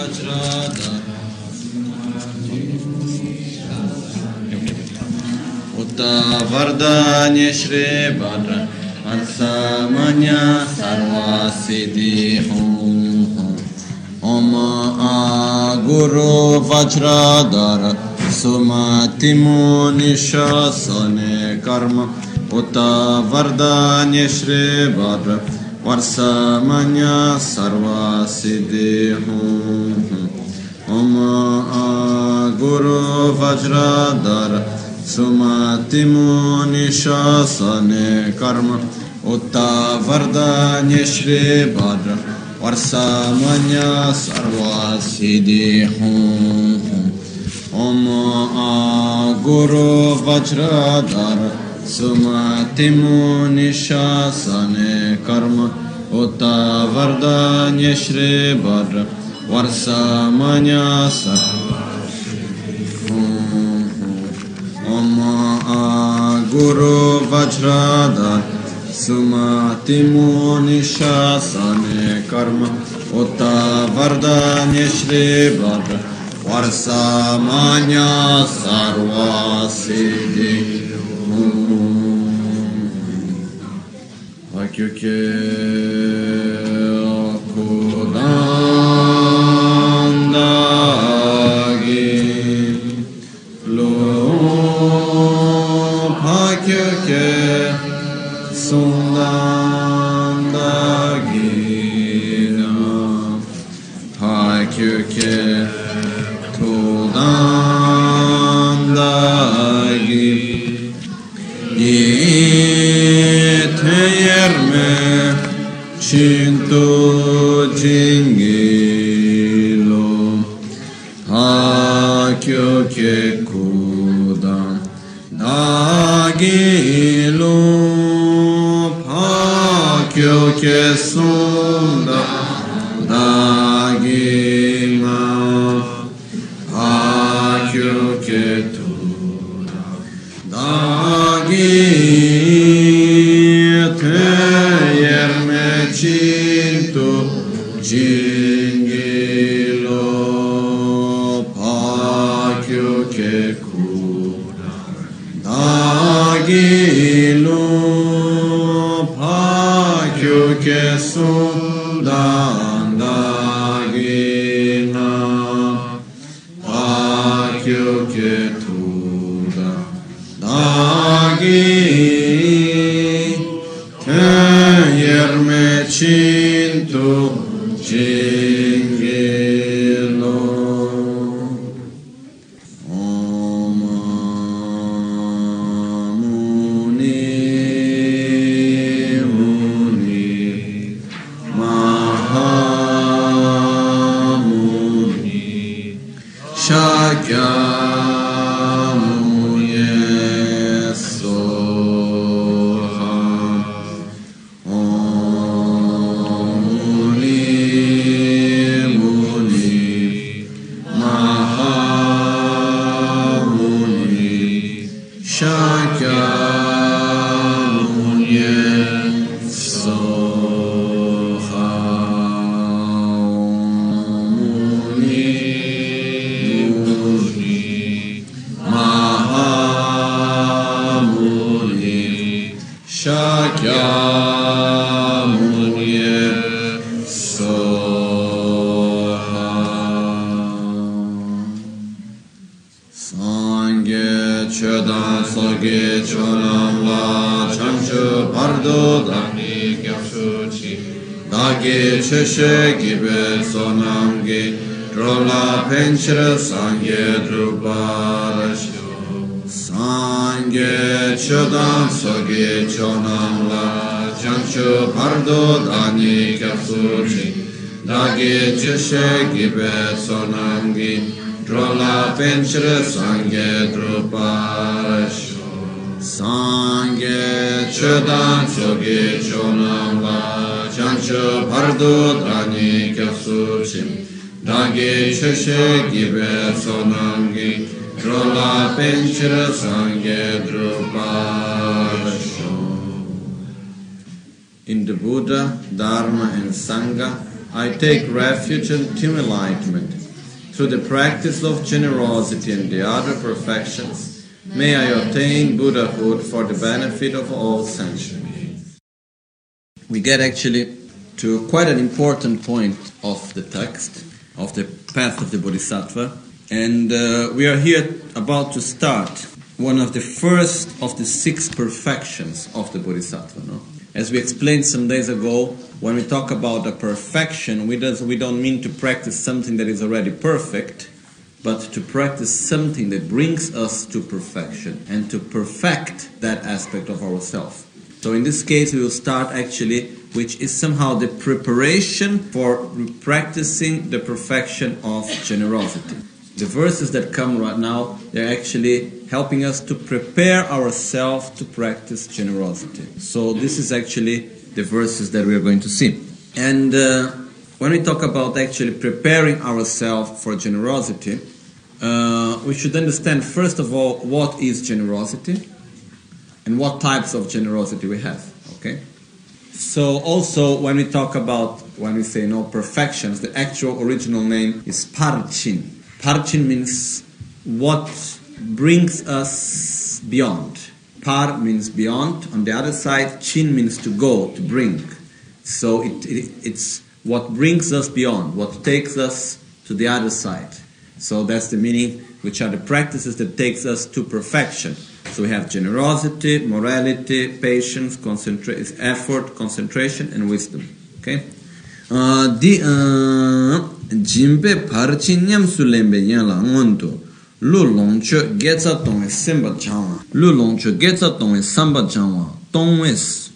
Vajradhara Uta Vardhanya Shri Bhadra Varsamanya Sarva Siddhi Om Guru Vajradhara Sumati Muni Shasane Karma Uta Vardhanya Shri Bhadra Varsamanya Sarva Siddhi Om Guru Vajradhara Sumati Muni Shasane Karma Uta Vardhanya Shri Bhadra Varsamanya Sarva Siddhi Om Guru Vajradhara Sumati Muni Shasane Karma Uta Vardhanya Shri Bhadra Varsamanya Sarva Om Guru Vajradhara Sumati Muni Shasane Karma Uta Vardhanya Shri Bhadra Varsamanya Sarva Siddhi Vakyuke Kudandagi Lo Vakyuke Sundandagi Vakyuke Kudandagi Yerme Cinto Jingilo Hakyo Ke Kudan Dagilo Hakyo Ke Sunda Dagima Hakyo Ke Tuda Dagima Cinto Jingilo Pakyo Ke Kuda Dagilo Pakyo Ke Sundan Dagina Pakyo Ke Tuda Dagi Yerme Cinto Jingilo Om Muni Muni Mahamuni Shakyamuni Sheshe Gibe Sonamge Drola Penchra Sangye Druparasho Sangye Chodam Soge Chonamla Chancho Pardo Dani Kapsuchi Dage Sheshe Gibe Sonamge Drola Penchra Sangye Druparasho Sangye Chodam Soge Chonamla Chancho Pardo Dani Kapsuchim Dagi Sheshe Gibe Sonamgi Drola Penchra Sangye Druparasho. In the Buddha, Dharma and Sangha I take refuge until enlightenment. Through the practice of generosity and the other perfections, may I attain Buddhahood for the benefit of all sentient beings. We get actually to quite an important point of the text, of the path of the Bodhisattva, and we are here about to start one of the first of the 6 perfections of the Bodhisattva. No? As we explained some days ago, when we talk about a perfection, we don't mean to practice something that is already perfect, but to practice something that brings us to perfection and to perfect that aspect of ourselves. So in this case, we will start actually, which is somehow the preparation for practicing the perfection of generosity. The verses that come right now, they're actually helping us to prepare ourselves to practice generosity. So this is actually the verses that we are going to see. And when we talk about actually preparing ourselves for generosity, we should understand first of all what is generosity and what types of generosity we have. Okay? So also when we talk about, when we say no perfections, the actual original name is parchin. Parchin means what brings us beyond. Par means beyond. On the other side, chin means to go, to bring. So it's what brings us beyond, what takes us to the other side. So that's the meaning, which are the practices that takes us to perfection. So we have generosity, morality, patience, effort, concentration, and wisdom. Okay? Jimbe parchinyam sulembe yala ngonto lu longcho getsa tongwe semba changwa lu longcho getsa tongwe samba changwa tongwe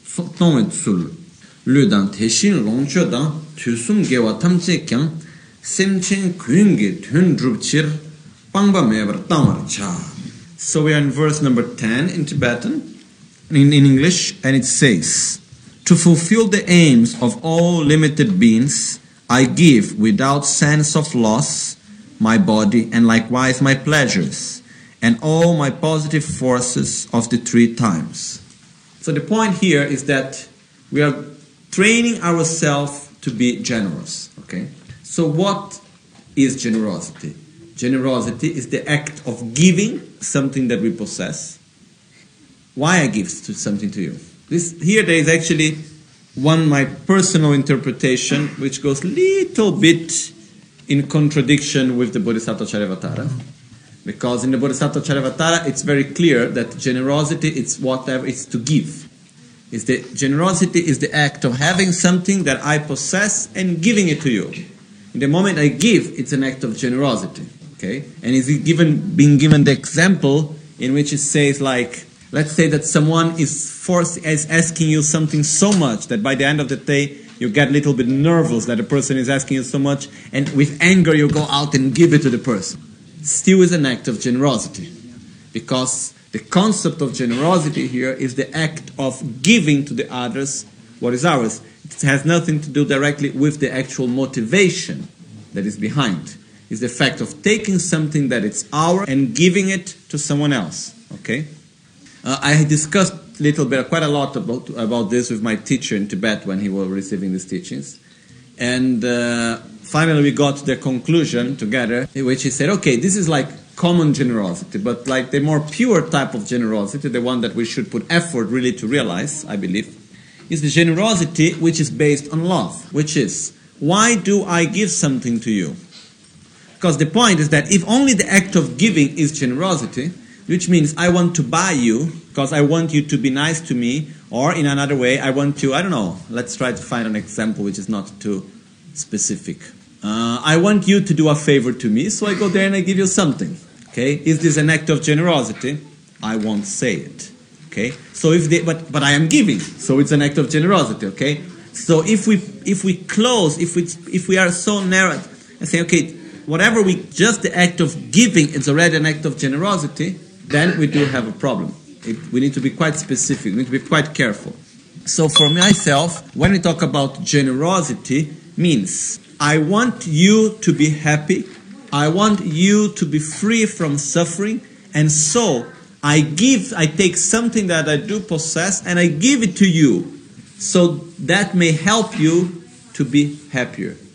tsul lu dan teshin longcho dan tusum gewa tamche kyang semchen kuyungi tun drupchir pangba mebar tamar cha. So we are in verse number 10 in Tibetan, in English, and it says, to fulfill the aims of all limited beings, I give without sense of loss my body and likewise my pleasures and all my positive forces of the 3 times. So the point here is that we are training ourselves to be generous. Okay? So what is generosity? Generosity is the act of giving something that we possess. Why I give something to you? Here there is actually my personal interpretation, which goes a little bit in contradiction with the Bodhisattva Charyavatara. Because in the Bodhisattva Charyavatara, it's very clear that generosity is whatever it's to give. Generosity is the act of having something that I possess and giving it to you. In the moment I give, it's an act of generosity. Okay? And is being given the example in which it says like, let's say that someone is asking you something so much that by the end of the day you get a little bit nervous that the person is asking you so much, and with anger you go out and give it to the person. Still is an act of generosity, because the concept of generosity here is the act of giving to the others what is ours. It has nothing to do directly with the actual motivation that is behind. It's the fact of taking something that is ours and giving it to someone else. Okay? I discussed quite a lot about this with my teacher in Tibet when he was receiving these teachings. And finally we got to the conclusion together, in which he said, okay, this is like common generosity, but like the more pure type of generosity, the one that we should put effort really to realize, I believe, is the generosity which is based on love, which is, why do I give something to you? Because the point is that if only the act of giving is generosity, which means I want to buy you because I want you to be nice to me, or in another way, I want to, I don't know, let's try to find an example which is not too specific. I want you to do a favor to me, so I go there and I give you something. Okay, is this an act of generosity? I won't say it. Okay, so but I am giving, so it's an act of generosity. Okay, so if we are so narrow and say, okay, whatever just the act of giving is already an act of generosity, then we do have a problem. We need to be quite specific. We need to be quite careful. So for myself, when we talk about generosity, means I want you to be happy. I want you to be free from suffering. And so I take something that I do possess and I give it to you. So that may help you to be happier.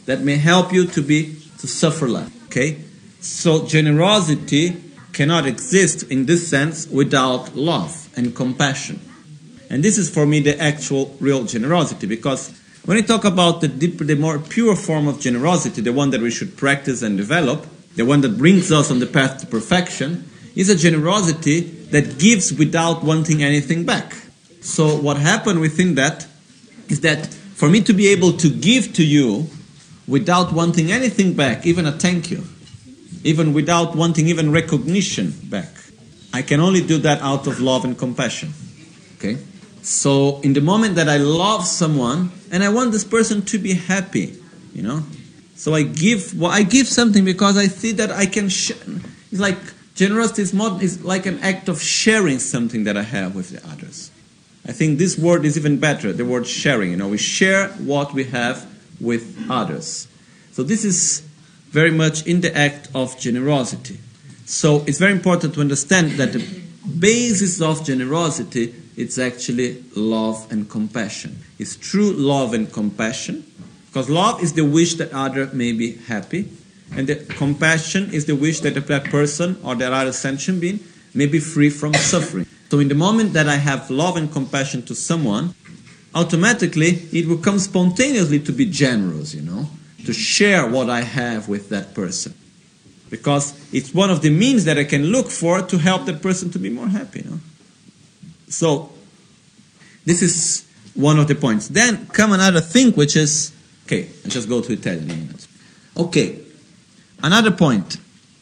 that may help you to suffer less. Okay? So generosity cannot exist in this sense without love and compassion. And this is for me the actual real generosity, because when we talk about the more pure form of generosity, the one that we should practice and develop, the one that brings us on the path to perfection, is a generosity that gives without wanting anything back. So what happened within that is that for me to be able to give to you without wanting anything back, even a thank you, even without wanting even recognition back, I can only do that out of love and compassion. Okay? So in the moment that I love someone and I want this person to be happy, you know, so I give something because I see that I can it's like generosity is like an act of sharing something that I have with the others. I think this word is even better, the word sharing. You know, we share what we have with others. So this is very much in the act of generosity. So it's very important to understand that the basis of generosity, it's actually love and compassion. It's true love and compassion, because love is the wish that other may be happy, and the compassion is the wish that that person or that other sentient being may be free from suffering. So in the moment that I have love and compassion to someone, automatically it will come spontaneously to be generous, you know, to share what I have with that person. Because it's one of the means that I can look for to help that person to be more happy, you know. So this is one of the points. Then come another thing, which is, okay, I'll just go to Italian in a minute. Okay, another point.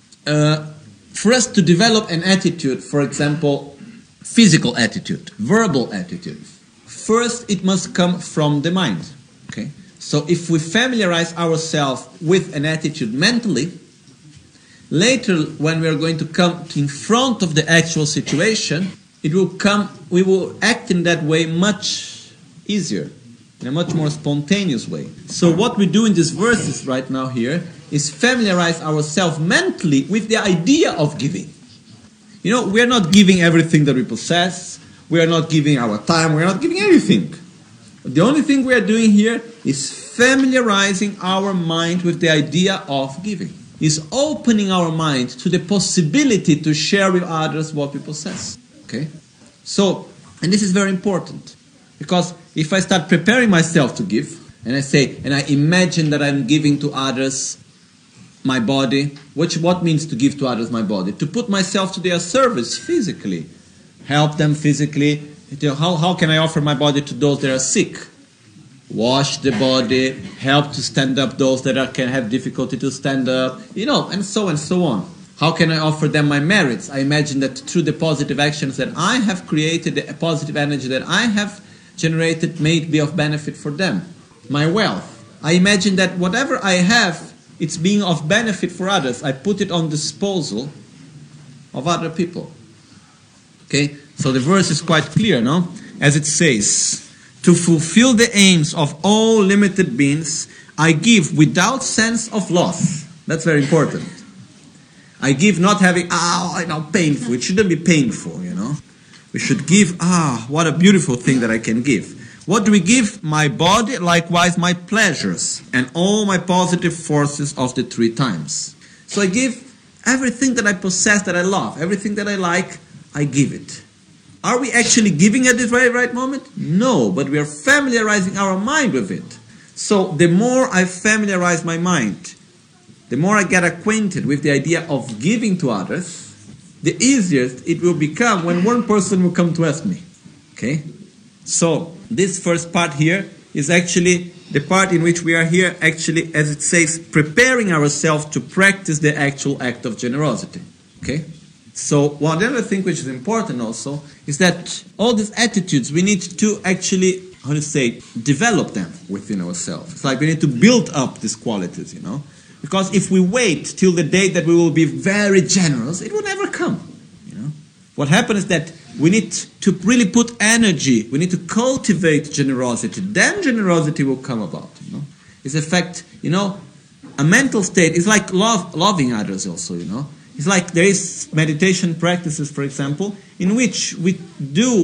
For us to develop an attitude, for example, physical attitude, verbal attitude, first it must come from the mind. Okay? So if we familiarize ourselves with an attitude mentally, later when we are going to come in front of the actual situation, we will act in that way much easier, in a much more spontaneous way. So what we do in these verses right now here is familiarize ourselves mentally with the idea of giving. You know, we are not giving everything that we possess, we are not giving our time, we are not giving everything. The only thing we are doing here is familiarizing our mind with the idea of giving. Is opening our mind to the possibility to share with others what we possess. Okay? So, and this is very important, because if I start preparing myself to give, and I imagine that I'm giving to others my body, what means to give to others my body? To put myself to their service physically, help them physically. How can I offer my body to those that are sick? Wash the body, help to stand up those that can have difficulty to stand up, you know, and so on. How can I offer them my merits? I imagine that through the positive actions that I have created, the positive energy that I have generated may be of benefit for them. My wealth. I imagine that whatever I have, it's being of benefit for others. I put it on disposal of other people. Okay, so the verse is quite clear, no? As it says, to fulfill the aims of all limited beings, I give without sense of loss. That's very important. I give not having, painful. It shouldn't be painful, you know. We should give, what a beautiful thing that I can give. What do we give? My body, likewise my pleasures, and all my positive forces of the 3 times. So I give everything that I possess, that I love, everything that I like, I give it. Are we actually giving at this very right moment? No, but we are familiarizing our mind with it. So the more I familiarize my mind, the more I get acquainted with the idea of giving to others, the easier it will become when one person will come to ask me. Okay? So this first part here is actually the part in which we are here, actually, as it says, preparing ourselves to practice the actual act of generosity. Okay? So one other thing which is important also is that all these attitudes, we need to actually, develop them within ourselves. It's like we need to build up these qualities, you know. Because if we wait till the day that we will be very generous, it will never come, you know. What happens is that we need to really put energy, we need to cultivate generosity. Then generosity will come about, you know. It's a fact, you know, a mental state is like loving others also, you know. It's like there is meditation practices, for example, in which we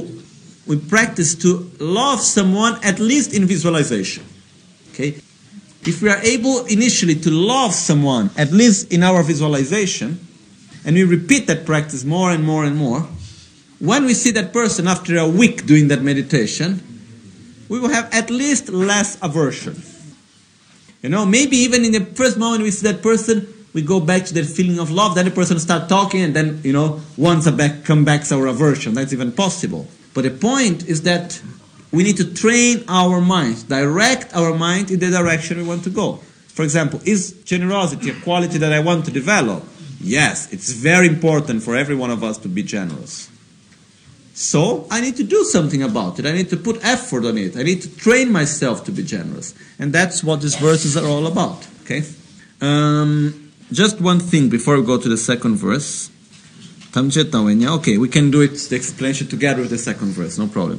practice to love someone at least in visualization. Okay? If we are able initially to love someone, at least in our visualization, and we repeat that practice more and more and more, when we see that person after a week doing that meditation, we will have at least less aversion. Maybe even in the first moment we see that person, we go back to that feeling of love, then the person starts talking, and then, once come back our aversion. That's even possible. But the point is that we need to train our mind, direct our mind in the direction we want to go. For example, is generosity a quality that I want to develop? Yes, it's very important for every one of us to be generous. So I need to do something about it. I need to put effort on it. I need to train myself to be generous. And that's what these verses are all about. Okay? Just one thing before we go to the second verse. Okay, we can do it, the explanation together with the second verse, no problem.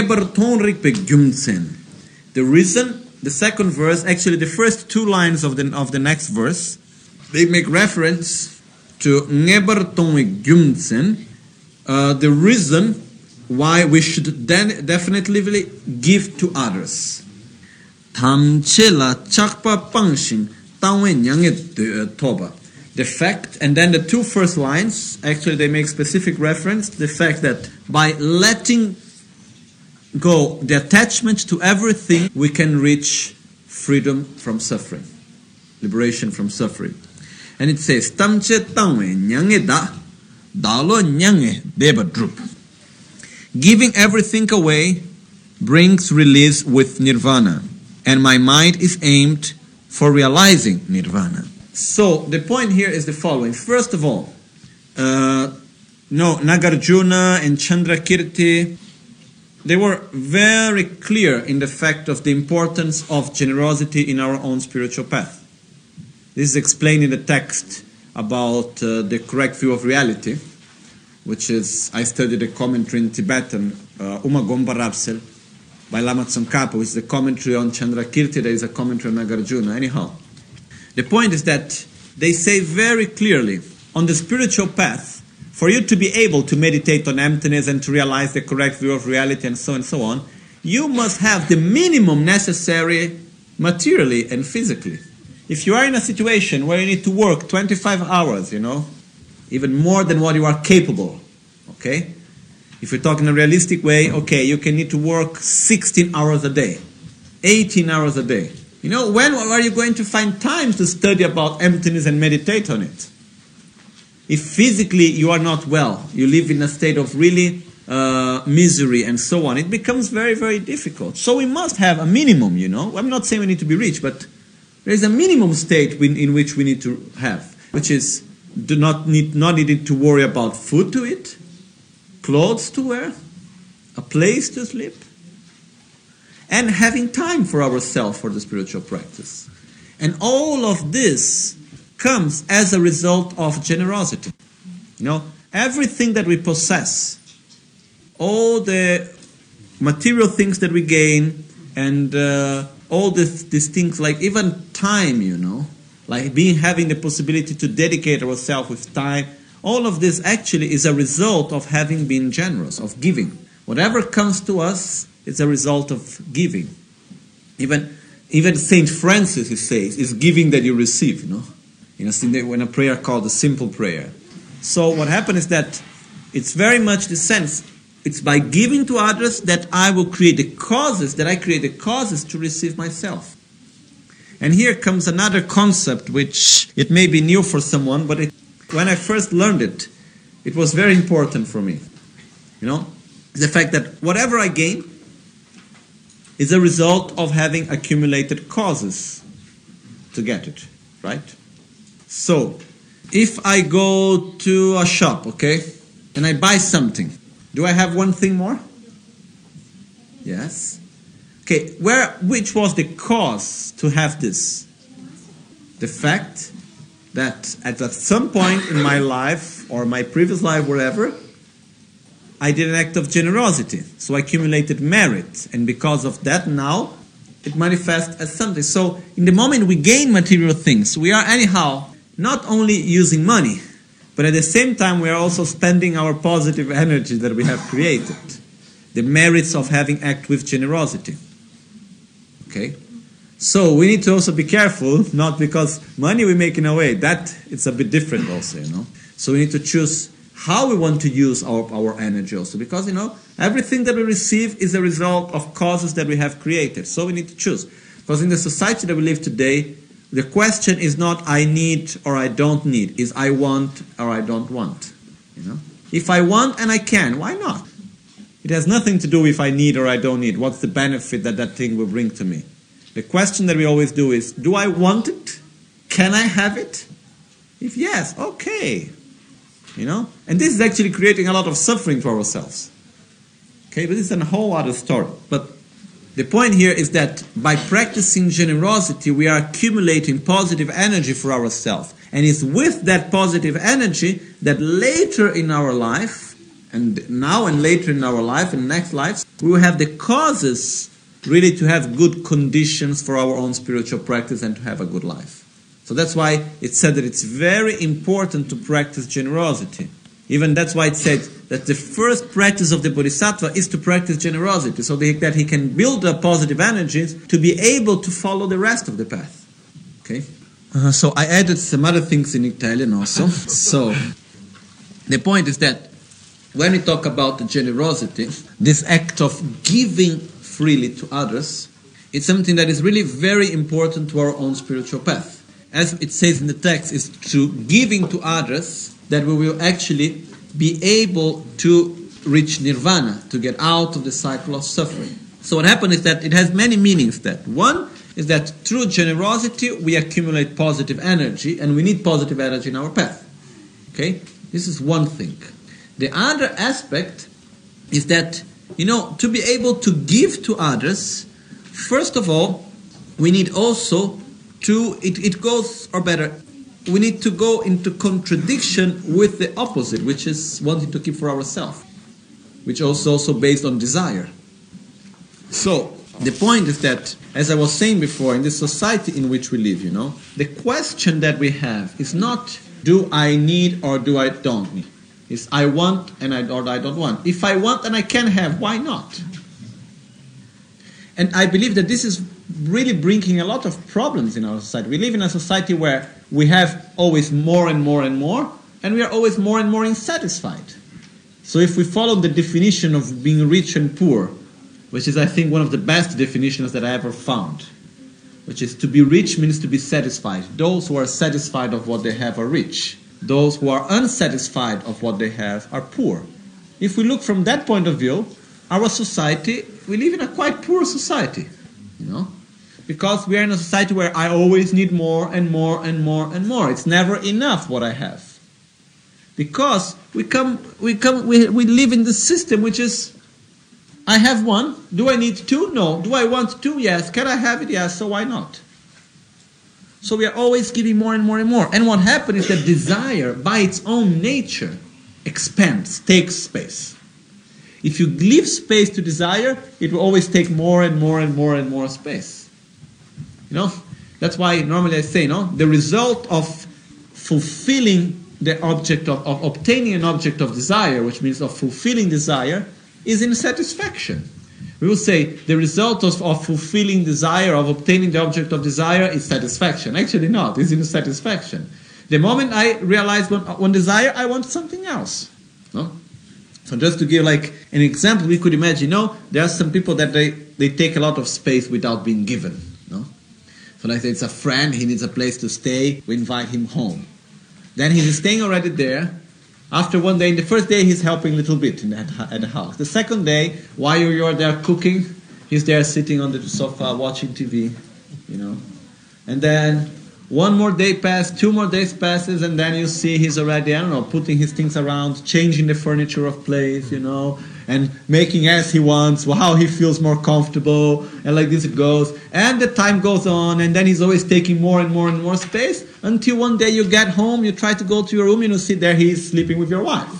The reason, the second verse, actually the first two lines of the next verse, they make reference to the reason why we should then definitely give to others. The fact, and then the two first lines, actually they make specific reference to the fact that by letting go the attachment to everything, we can reach freedom from suffering, liberation from suffering. And it says, giving everything away brings release with nirvana, and my mind is aimed for realizing nirvana. So the point here is the following. First of all, Nagarjuna and Chandrakirti, they were very clear in the fact of the importance of generosity in our own spiritual path. This is explained in the text about the correct view of reality, which is, I studied a commentary in Tibetan, Umagomba Rapsel, by Lama Tsongkhapa, which is the commentary on Chandrakirti. There is a commentary on Nagarjuna. Anyhow, the point is that they say very clearly, on the spiritual path, for you to be able to meditate on emptiness and to realize the correct view of reality and so on, you must have the minimum necessary materially and physically. If you are in a situation where you need to work 25 hours, even more than what you are capable, okay? If we talk in a realistic way, okay, you can need to work 16 hours a day, 18 hours a day. When are you going to find time to study about emptiness and meditate on it? If physically you are not well, you live in a state of really misery and so on, it becomes very, very difficult. So we must have a minimum, I'm not saying we need to be rich, but there is a minimum state in which we need to have, which is not needing to worry about food to eat, clothes to wear, a place to sleep, and having time for ourselves for the spiritual practice. And all of this comes as a result of generosity. Everything that we possess, all the material things that we gain, and all these things, like even time, like having the possibility to dedicate ourselves with time, all of this actually is a result of having been generous, of giving. Whatever comes to us, it's a result of giving. Even Saint Francis, he says, is giving that you receive, in a prayer called the simple prayer. So what happened is that it's very much the sense, it's by giving to others that I will create the causes, to receive myself. And here comes another concept, which it may be new for someone, but when I first learned it, it was very important for me. The fact that whatever I gain is a result of having accumulated causes to get it, right? So, if I go to a shop, okay, and I buy something, do I have one thing more? Yes. Okay, which was the cause to have this? The fact that at some point in my life, or my previous life, wherever, I did an act of generosity. So I accumulated merit. And because of that now, it manifests as something. So in the moment we gain material things, we are anyhow not only using money, but at the same time we are also spending our positive energy that we have created. The merits of having acted with generosity. Okay? So we need to also be careful, not because money we make in a way, that it's a bit different also, So we need to choose how we want to use our energy also, because, everything that we receive is a result of causes that we have created. So we need to choose. Because in the society that we live today, the question is not I need or I don't need, is I want or I don't want. If I want and I can, why not? It has nothing to do if I need or I don't need. What's the benefit that that thing will bring to me? The question that we always do is, do I want it? Can I have it? If yes, okay. And this is actually creating a lot of suffering for ourselves. Okay, but this is a whole other story. But the point here is that by practicing generosity, we are accumulating positive energy for ourselves. And it's with that positive energy that later in our life, and now and later in our life and next lives, we will have the causes really to have good conditions for our own spiritual practice and to have a good life. So that's why it said that it's very important to practice generosity. Even that's why it said that the first practice of the Bodhisattva is to practice generosity, so that he can build up positive energies to be able to follow the rest of the path. Okay? So I added some other things in Italian also. So the point is that when we talk about the generosity, this act of giving freely to others, it's something that is really very important to our own spiritual path. As it says in the text, is through giving to others that we will actually be able to reach nirvana, to get out of the cycle of suffering. So what happens is that it has many meanings. That one is that through generosity we accumulate positive energy, and we need positive energy in our path. Okay? This is one thing. The other aspect is that, to be able to give to others, first of all, we need also we need to go into contradiction with the opposite, which is wanting to keep for ourselves, which is also based on desire. So, the point is that, as I was saying before, in the society in which we live, the question that we have is not, do I need or do I don't need? It's I want and I don't want. If I want and I can have, why not? And I believe that this is really bringing a lot of problems in our society. We live in a society where we have always more and more and more, and we are always more and more unsatisfied. So if we follow the definition of being rich and poor, which is, I think, one of the best definitions that I ever found, which is to be rich means to be satisfied. Those who are satisfied of what they have are rich. Those who are unsatisfied of what they have are poor. If we look from that point of view, our society, we live in a quite poor society, because we are in a society where I always need more and more and more and more. It's never enough what I have. Because we live in the system which is, I have one, do I need two? No. Do I want two? Yes. Can I have it? Yes. So why not? So we are always giving more and more and more. And what happens is that desire, by its own nature, expands, takes space. If you leave space to desire, it will always take more and more and more and more space. That's why normally I say, the result of fulfilling the object of obtaining an object of desire, which means of fulfilling desire, is insatisfaction. We will say the result of fulfilling desire, of obtaining the object of desire, is satisfaction. Actually not, it's insatisfaction. The moment I realize one desire, I want something else. No? So just to give like an example, we could imagine, there are some people that they take a lot of space without being given. So like it's a friend, he needs a place to stay, we invite him home. Then he's staying already there. After one day, the first day he's helping a little bit at the house. The second day, while you're there cooking, he's there sitting on the sofa watching TV, And then one more day passes, 2 more days passes, and then you see he's already, putting his things around, changing the furniture of place, and making as he wants, how he feels more comfortable, and like this it goes. And the time goes on, and then he's always taking more and more and more space, until one day you get home, you try to go to your room, and you see there he's sleeping with your wife,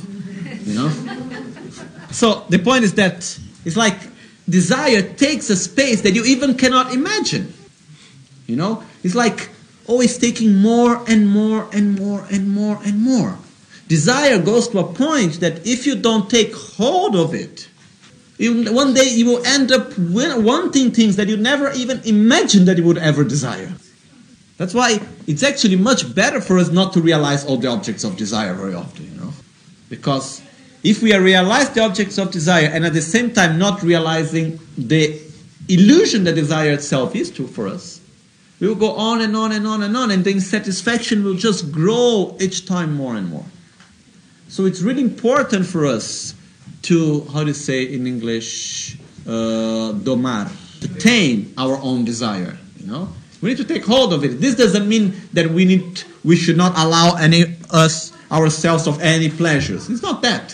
So the point is that it's like desire takes a space that you even cannot imagine, It's like always taking more and more and more and more and more. Desire goes to a point that if you don't take hold of it, One day you will end up wanting things that you never even imagined that you would ever desire. That's why it's actually much better for us not to realize all the objects of desire very often, Because if we realize the objects of desire and at the same time not realizing the illusion that desire itself is for us, we will go on and on and on and on, and the insatisfaction will just grow each time more and more. So it's really important for us to, how to say in English, domar, to tame our own desire, We need to take hold of it. This doesn't mean that we should not allow ourselves of any pleasures. It's not that,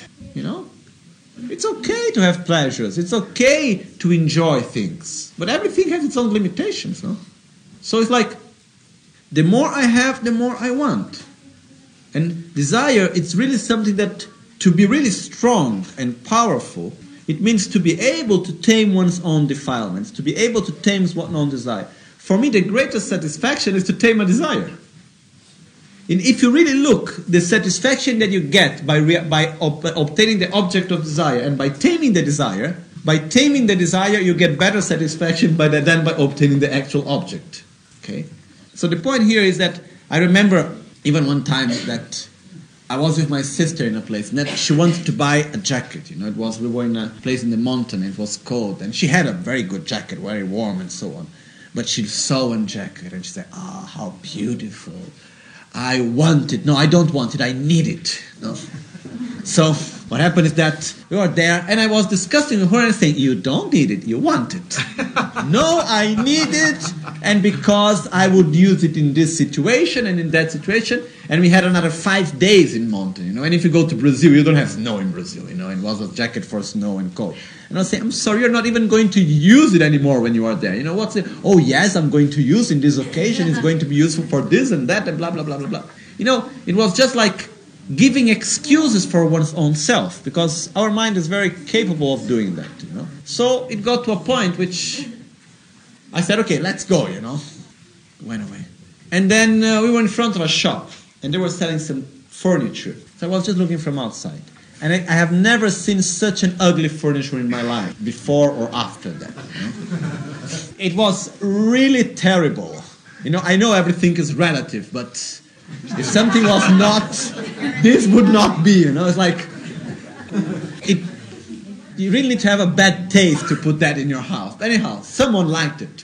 It's okay to have pleasures. It's okay to enjoy things. But everything has its own limitations, no? So it's like, the more I have, the more I want. And desire, it's really something that, to be really strong and powerful, it means to be able to tame one's own defilements, to be able to tame one's own desire. For me, the greatest satisfaction is to tame a desire. And if you really look, the satisfaction that you get by obtaining the object of desire and by taming the desire, you get better satisfaction than by obtaining the actual object. Okay? So the point here is that I remember even one time that I was with my sister in a place, and that she wanted to buy a jacket. We were in a place in the mountain, it was cold, and she had a very good jacket, very warm and so on. But she saw one jacket, and she said, how beautiful. I want it. No, I don't want it. I need it. No. So what happened is that we were there, and I was discussing with her and saying, you don't need it. You want it. No, I need it, and because I would use it in this situation and in that situation. And we had another 5 days in mountain, And if you go to Brazil, you don't have snow in Brazil, It was a jacket for snow and cold. And I was saying, I'm sorry, you're not even going to use it anymore when you are there. What's it? Oh, yes, I'm going to use in this occasion. It's going to be useful for this and that and blah, blah, blah, blah, blah. It was just like giving excuses for one's own self, because our mind is very capable of doing that, So it got to a point which I said, okay, let's go, Went away. And then we were in front of a shop, and they were selling some furniture. So I was just looking from outside. And I have never seen such an ugly furniture in my life, before or after that. It was really terrible. I know everything is relative, but if something was not, this would not be, It's like, you really need to have a bad taste to put that in your house. Anyhow, someone liked it.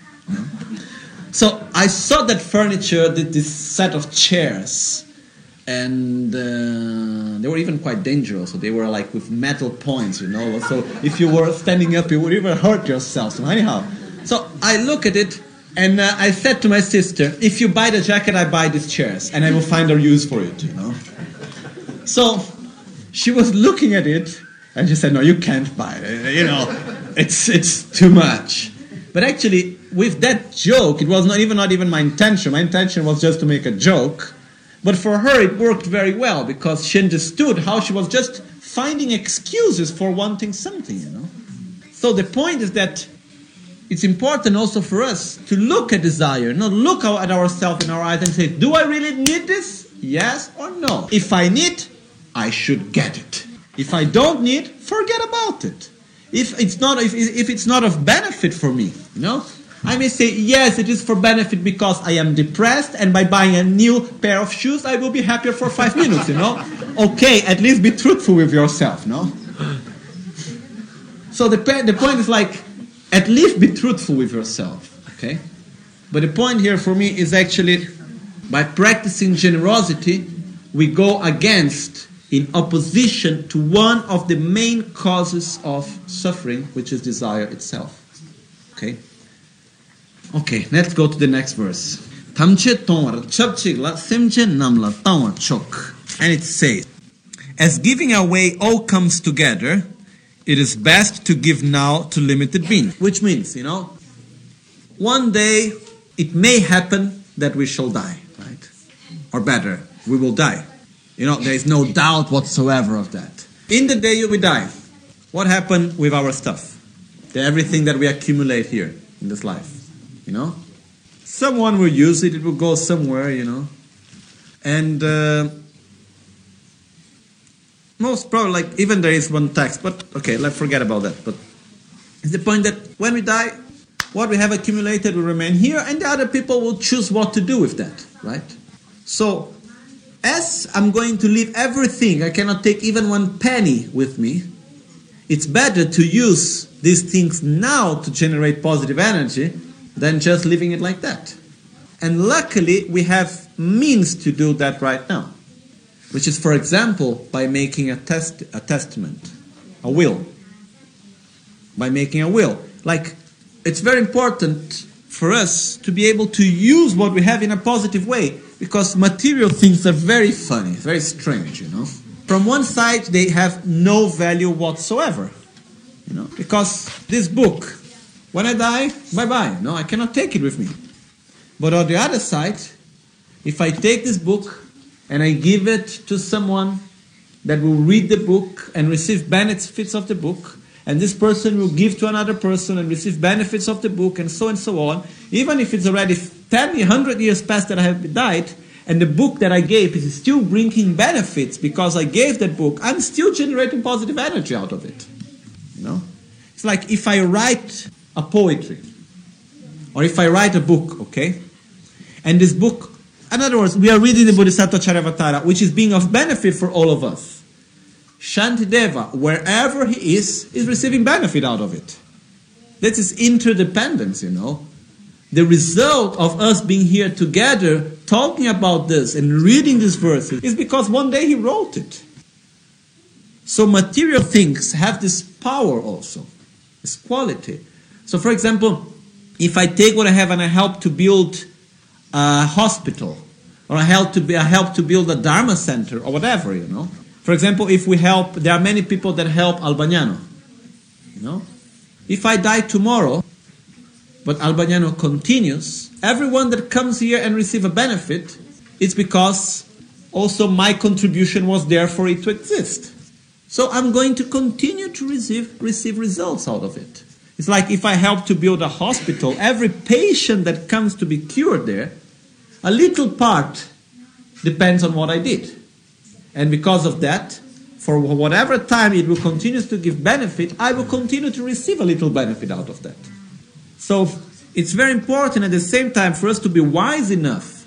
So I saw that furniture, this set of chairs, and they were even quite dangerous. So they were like with metal points, So if you were standing up, you would even hurt yourself. So anyhow, so I look at it, and I said to my sister, if you buy the jacket, I buy these chairs, and I will find a use for it, So she was looking at it, and she said, no, you can't buy it, it's too much. But actually, with that joke, it was not even my intention. My intention was just to make a joke. But for her, it worked very well, because she understood how she was just finding excuses for wanting something, So the point is that it's important also for us to look at desire, not look at ourselves in our eyes and say, do I really need this? Yes or no? If I need, I should get it. If I don't need, forget about it. If it's not of benefit for me, I may say, yes, it is for benefit because I am depressed, and by buying a new pair of shoes, I will be happier for 5 minutes, Okay, at least be truthful with yourself, So the point is like, at least be truthful with yourself, okay? But the point here for me is actually, by practicing generosity, we go against, in opposition to one of the main causes of suffering, which is desire itself. Okay? Okay, let's go to the next verse. And it says, as giving away all comes together, it is best to give now to limited beings. Which means, one day it may happen that we shall die, right? Or better, we will die. There is no doubt whatsoever of that. In the day we die, what happened with our stuff? Everything that we accumulate here in this life, Someone will use it, it will go somewhere, And most probably, like, even there is one text, but okay, let's forget about that. But it's the point that when we die, what we have accumulated will remain here, and the other people will choose what to do with that, right? So, as I'm going to leave everything, I cannot take even one penny with me, it's better to use these things now to generate positive energy than just leaving it like that. And luckily, we have means to do that right now, which is, for example, by making a testament, a will. By making a will. Like, it's very important for us to be able to use what we have in a positive way, because material things are very funny, very strange, you know. From one side, they have no value whatsoever, you know, because this book, when I die, bye-bye, no, I cannot take it with me. But on the other side, if I take this book and I give it to someone that will read the book and receive benefits of the book, and this person will give to another person and receive benefits of the book, and so on, even if it's already 10, 100 years past that I have died, and the book that I gave is still bringing benefits because I gave that book, I'm still generating positive energy out of it. You know? It's like if I write a poetry, or if I write a book, okay? And this book, in other words, we are reading the Bodhisattva Charyavatara, which is being of benefit for all of us. Shantideva, wherever he is receiving benefit out of it. That is interdependence, you know. The result of us being here together, talking about this and reading these verses, is because one day he wrote it. So material things have this power also, this quality. So for example, if I take what I have and I help to build a hospital, or I help to build a Dharma center, or whatever, you know. For example, if we help, there are many people that help Albagnano, you know. If I die tomorrow, but Albagnano continues, everyone that comes here and receive a benefit, it's because also my contribution was there for it to exist. So I'm going to continue to receive results out of it. It's like if I help to build a hospital, every patient that comes to be cured there, a little part depends on what I did. And because of that, for whatever time it will continue to give benefit, I will continue to receive a little benefit out of that. So it's very important at the same time for us to be wise enough,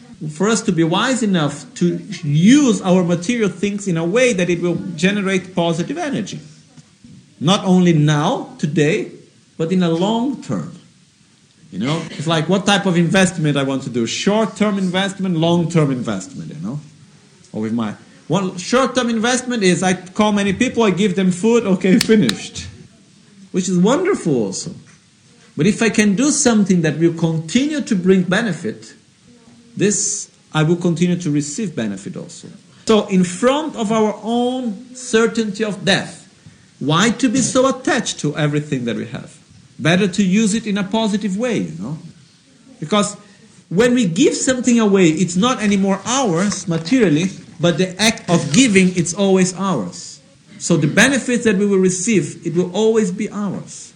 to use our material things in a way that it will generate positive energy. Not only now, today, but in a long term. You know, it's like what type of investment I want to do. Short-term investment, long-term investment, you know. Or with my one short-term investment is I call many people, I give them food, okay, finished. Which is wonderful also. But if I can do something that will continue to bring benefit, this I will continue to receive benefit also. So in front of our own certainty of death, why to be so attached to everything that we have? Better to use it in a positive way, you know. Because when we give something away, it's not anymore ours materially, but the act of giving, it's always ours. So the benefits that we will receive, it will always be ours.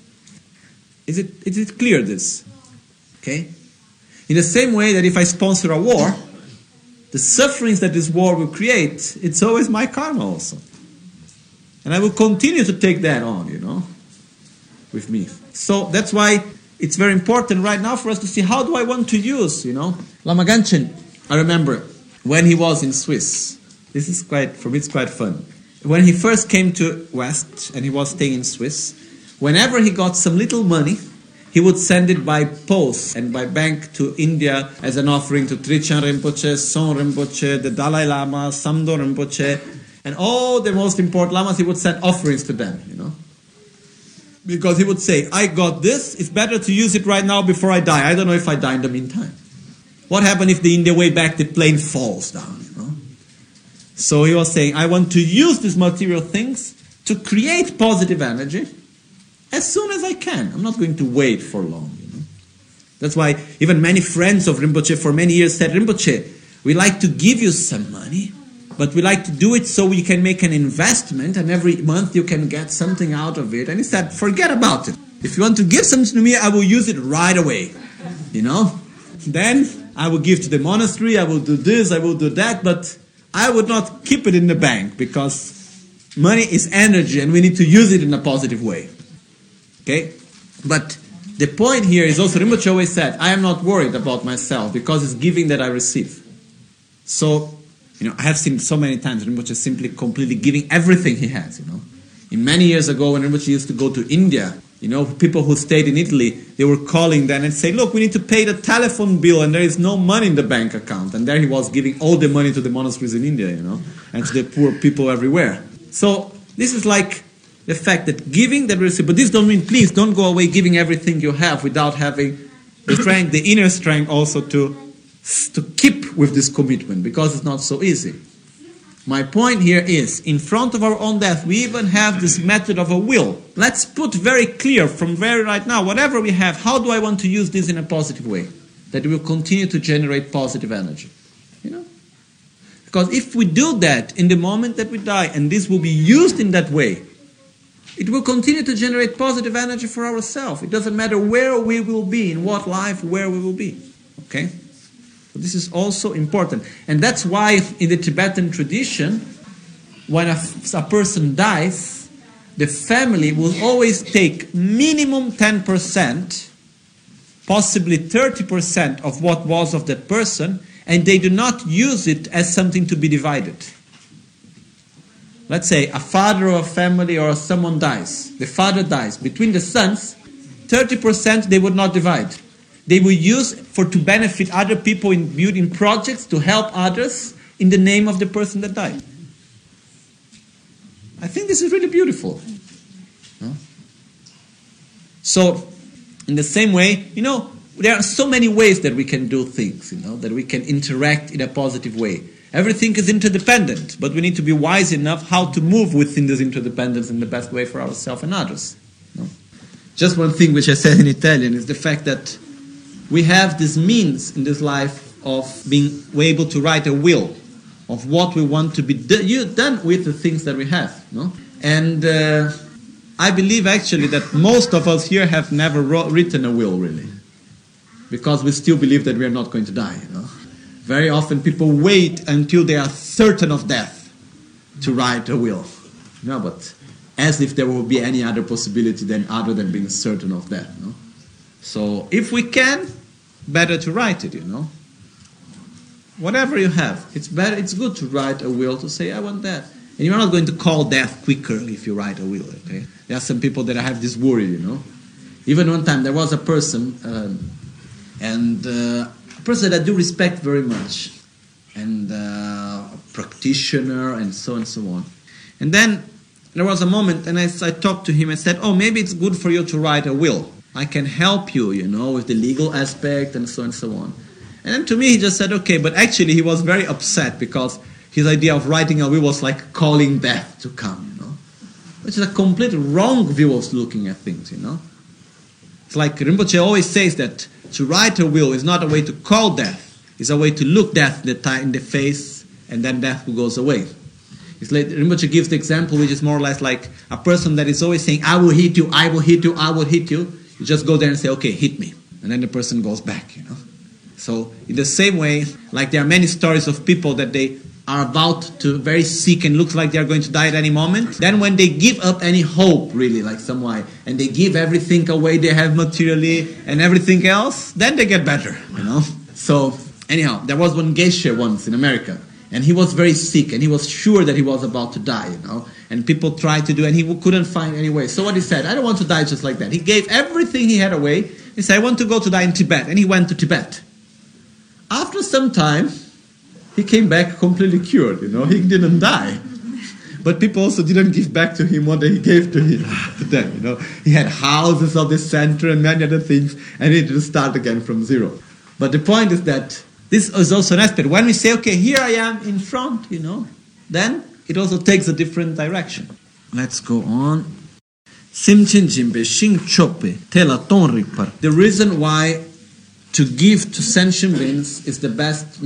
Is it clear, this? Okay? In the same way that if I sponsor a war, the sufferings that this war will create, it's always my karma also. And I will continue to take that on, you know, with me. So that's why it's very important right now for us to see how do I want to use, you know. Lama Ganchen, I remember when he was in Swiss. This is for me it's quite fun. When he first came to West and he was staying in Swiss, whenever he got some little money, he would send it by post and by bank to India as an offering to Trichan Rinpoche, Son Rinpoche, the Dalai Lama, Samdo Rinpoche, and all the most important lamas, he would send offerings to them, you know. Because he would say, I got this, it's better to use it right now before I die. I don't know if I die in the meantime. What happens if in the way back the plane falls down, you know? So he was saying, I want to use these material things to create positive energy as soon as I can. I'm not going to wait for long, you know. That's why even many friends of Rinpoche for many years said, Rinpoche, we like to give you some money, but we like to do it so we can make an investment and every month you can get something out of it. And he said, forget about it. If you want to give something to me, I will use it right away, you know. Then I will give to the monastery, I will do this, I will do that, but I would not keep it in the bank because money is energy and we need to use it in a positive way. Okay? But the point here is also, Rinpoche always said, I am not worried about myself because it's giving that I receive. So, I have seen so many times Rinpoche simply completely giving everything he has, In many years ago when Rinpoche used to go to India, people who stayed in Italy, they were calling then and say, look, we need to pay the telephone bill and there is no money in the bank account. And there he was giving all the money to the monasteries in India, and to the poor people everywhere. So this is like the fact that giving that we receive, but this don't mean, please don't go away giving everything you have without having the strength, the inner strength also to keep with this commitment, because it's not so easy. My point here is, in front of our own death, we even have this method of a will. Let's put very clear from very right now, whatever we have, how do I want to use this in a positive way? That will continue to generate positive energy. Because if we do that in the moment that we die, and this will be used in that way, it will continue to generate positive energy for ourselves. It doesn't matter where we will be, in what life, where we will be. Okay? This is also important. And that's why in the Tibetan tradition, when a person dies, the family will always take minimum 10%, possibly 30% of what was of that person, and they do not use it as something to be divided. Let's say a father of a family or someone dies. The father dies. Between the sons, 30% they would not divide. They will use to benefit other people in building projects, to help others in the name of the person that died. I think this is really beautiful. So, in the same way, there are so many ways that we can do things, that we can interact in a positive way. Everything is interdependent, but we need to be wise enough how to move within this interdependence in the best way for ourselves and others. Just one thing which I said in Italian is the fact that we have this means in this life of being able to write a will of what we want to be done with the things that we have. And I believe actually that most of us here have never written a will really, because we still believe that we are not going to die. Very often people wait until they are certain of death to write a will. But as if there will be any other possibility other than being certain of death. So if we can, better to write it, Whatever you have, it's good to write a will, to say, I want that. And you're not going to call death quicker if you write a will, okay? There are some people that have this worry, Even one time there was a person, a person that I do respect very much, and a practitioner, and so on. And then there was a moment, and I talked to him and said, maybe it's good for you to write a will. I can help you, with the legal aspect and so on. And then to me he just said, okay, but actually he was very upset because his idea of writing a will was like calling death to come, Which is a complete wrong view of looking at things, It's like Rinpoche always says that to write a will is not a way to call death. It's a way to look death in the face, and then death goes away. It's like Rinpoche gives the example which is more or less like a person that is always saying, I will hit you, I will hit you, I will hit you. You just go there and say, okay, hit me. And then the person goes back, So in the same way, like there are many stories of people that they are about to very sick and looks like they are going to die at any moment. Then when they give up any hope, really, like some way, and they give everything away they have materially and everything else, then they get better, So anyhow, there was one geisha once in America, and he was very sick, and he was sure that he was about to die, And people tried to do, and he couldn't find any way. So what he said, I don't want to die just like that. He gave everything he had away. He said, I want to go to die in Tibet. And he went to Tibet. After some time, he came back completely cured, He didn't die. But people also didn't give back to him what he gave to them, He had houses of the center and many other things, and he had to start again from zero. But the point is that this is also an aspect. When we say, okay, here I am in front, then it also takes a different direction. Let's go on. The reason why to give to sentient beings is the best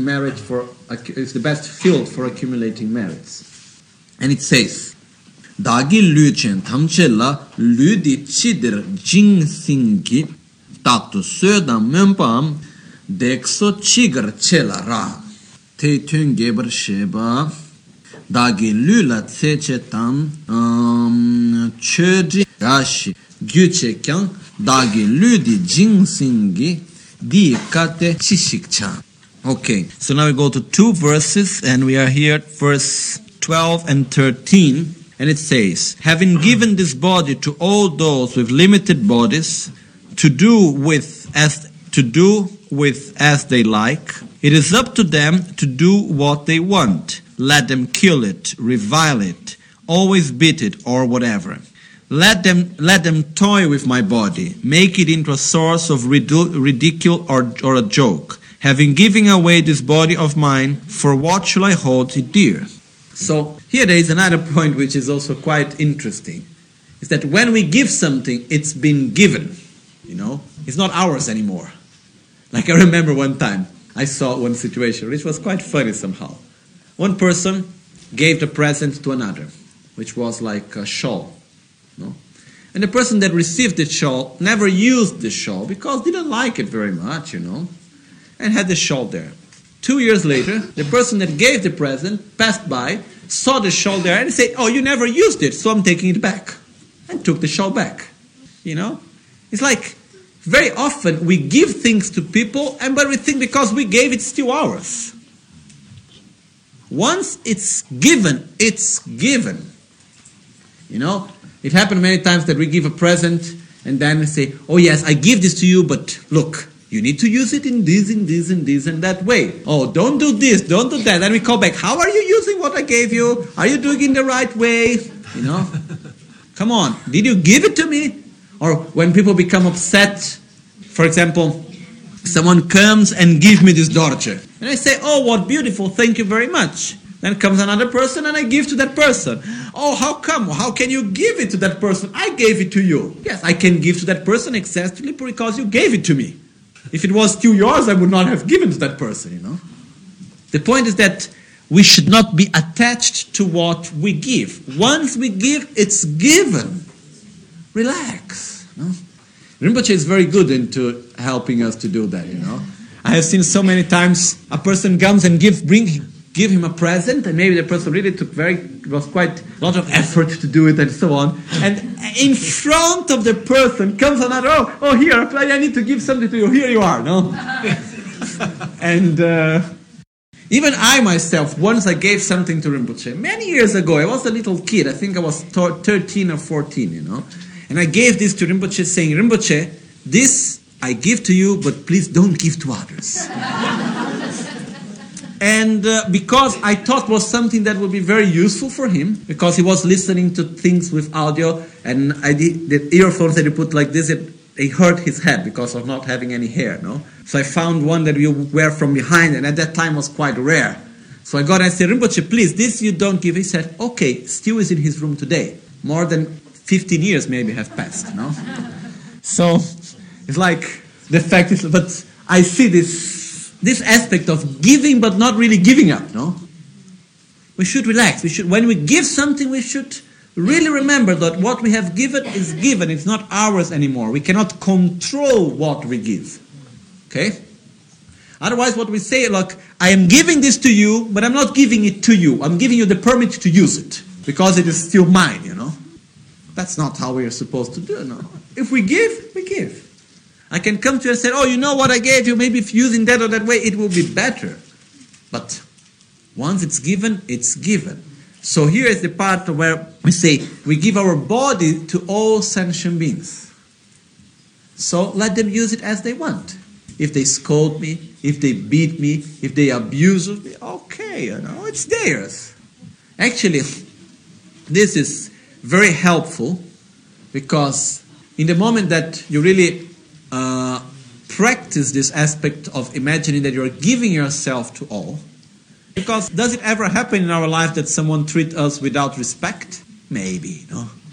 field for accumulating merits. And it says, Dagi Luchen Tamchella Ludi Chidir Jing Singi Tatu Söda Membam Dexo Chigar Chela Ra Te Tun Geber Sheba dagi lula tseche tan chödri gashi gyuche kyang dagi ludi jingsingi di kate chishikchan. Okay, so now we go to 2 verses, and we are here at verse 12 and 13, and it says, having given this body to all those with limited bodies to do with as they like, it is up to them to do what they want. Let them kill it, revile it, always beat it, or whatever. Let them toy with my body, make it into a source of ridicule or a joke. Having given away this body of mine, for what shall I hold it dear? So here there is another point which is also quite interesting. Is that when we give something, it's been given. It's not ours anymore. Like I remember one time, I saw one situation which was quite funny somehow. One person gave the present to another, which was like a shawl. And the person that received the shawl never used the shawl because didn't like it very much, and had the shawl there. 2 years later, the person that gave the present passed by, saw the shawl there, and said, oh, you never used it, so I'm taking it back. And took the shawl back. It's like very often we give things to people, but we think because we gave it's still ours. Once it's given, it's given. It happened many times that we give a present and then we say, oh yes, I give this to you, but look, you need to use it in this, and that way. Oh, don't do this, don't do that. Then we call back, how are you using what I gave you? Are you doing it in the right way? Come on, did you give it to me? Or when people become upset, for example, someone comes and gives me this dolce. And I say, oh, what beautiful, thank you very much. Then comes another person and I give to that person. Oh, how come? How can you give it to that person? I gave it to you. Yes, I can give to that person exactly because you gave it to me. If it was still yours, I would not have given to that person, The point is that we should not be attached to what we give. Once we give, it's given. Relax. Rinpoche is very good into helping us to do that, I have seen so many times a person comes and give him a present, and maybe the person really was quite a lot of effort to do it and so on. And in front of the person comes another, oh here, I need to give something to you. Here you are, no? And even I myself, once I gave something to Rinpoche, many years ago, I was a little kid, I think I was 13 or 14, And I gave this to Rinpoche saying, Rinpoche, this I give to you, but please don't give to others. And because I thought was something that would be very useful for him, because he was listening to things with audio, and the earphones that he put like this, they hurt his head because of not having any hair, So I found one that you wear from behind, and at that time was quite rare. So I got and I said, Rinpoche, please, this you don't give. He said, okay, still is in his room today. More than 15 years maybe have passed, So it's like the fact is, but I see this aspect of giving but not really giving up, We should relax. When we give something, we should really remember that what we have given is given. It's not ours anymore. We cannot control what we give. Okay? Otherwise, what we say, look, I am giving this to you, but I'm not giving it to you. I'm giving you the permit to use it because it is still mine, That's not how we are supposed to do, If we give, we give. I can come to you and say, oh, you know what I gave you? Maybe if using that or that way, it will be better. But once it's given, it's given. So here is the part where we say, we give our body to all sentient beings. So let them use it as they want. If they scold me, if they beat me, if they abuse me, okay, it's theirs. Actually, this is very helpful because in the moment that you really practice this aspect of imagining that you're giving yourself to all. Because does it ever happen in our life that someone treats us without respect? Maybe,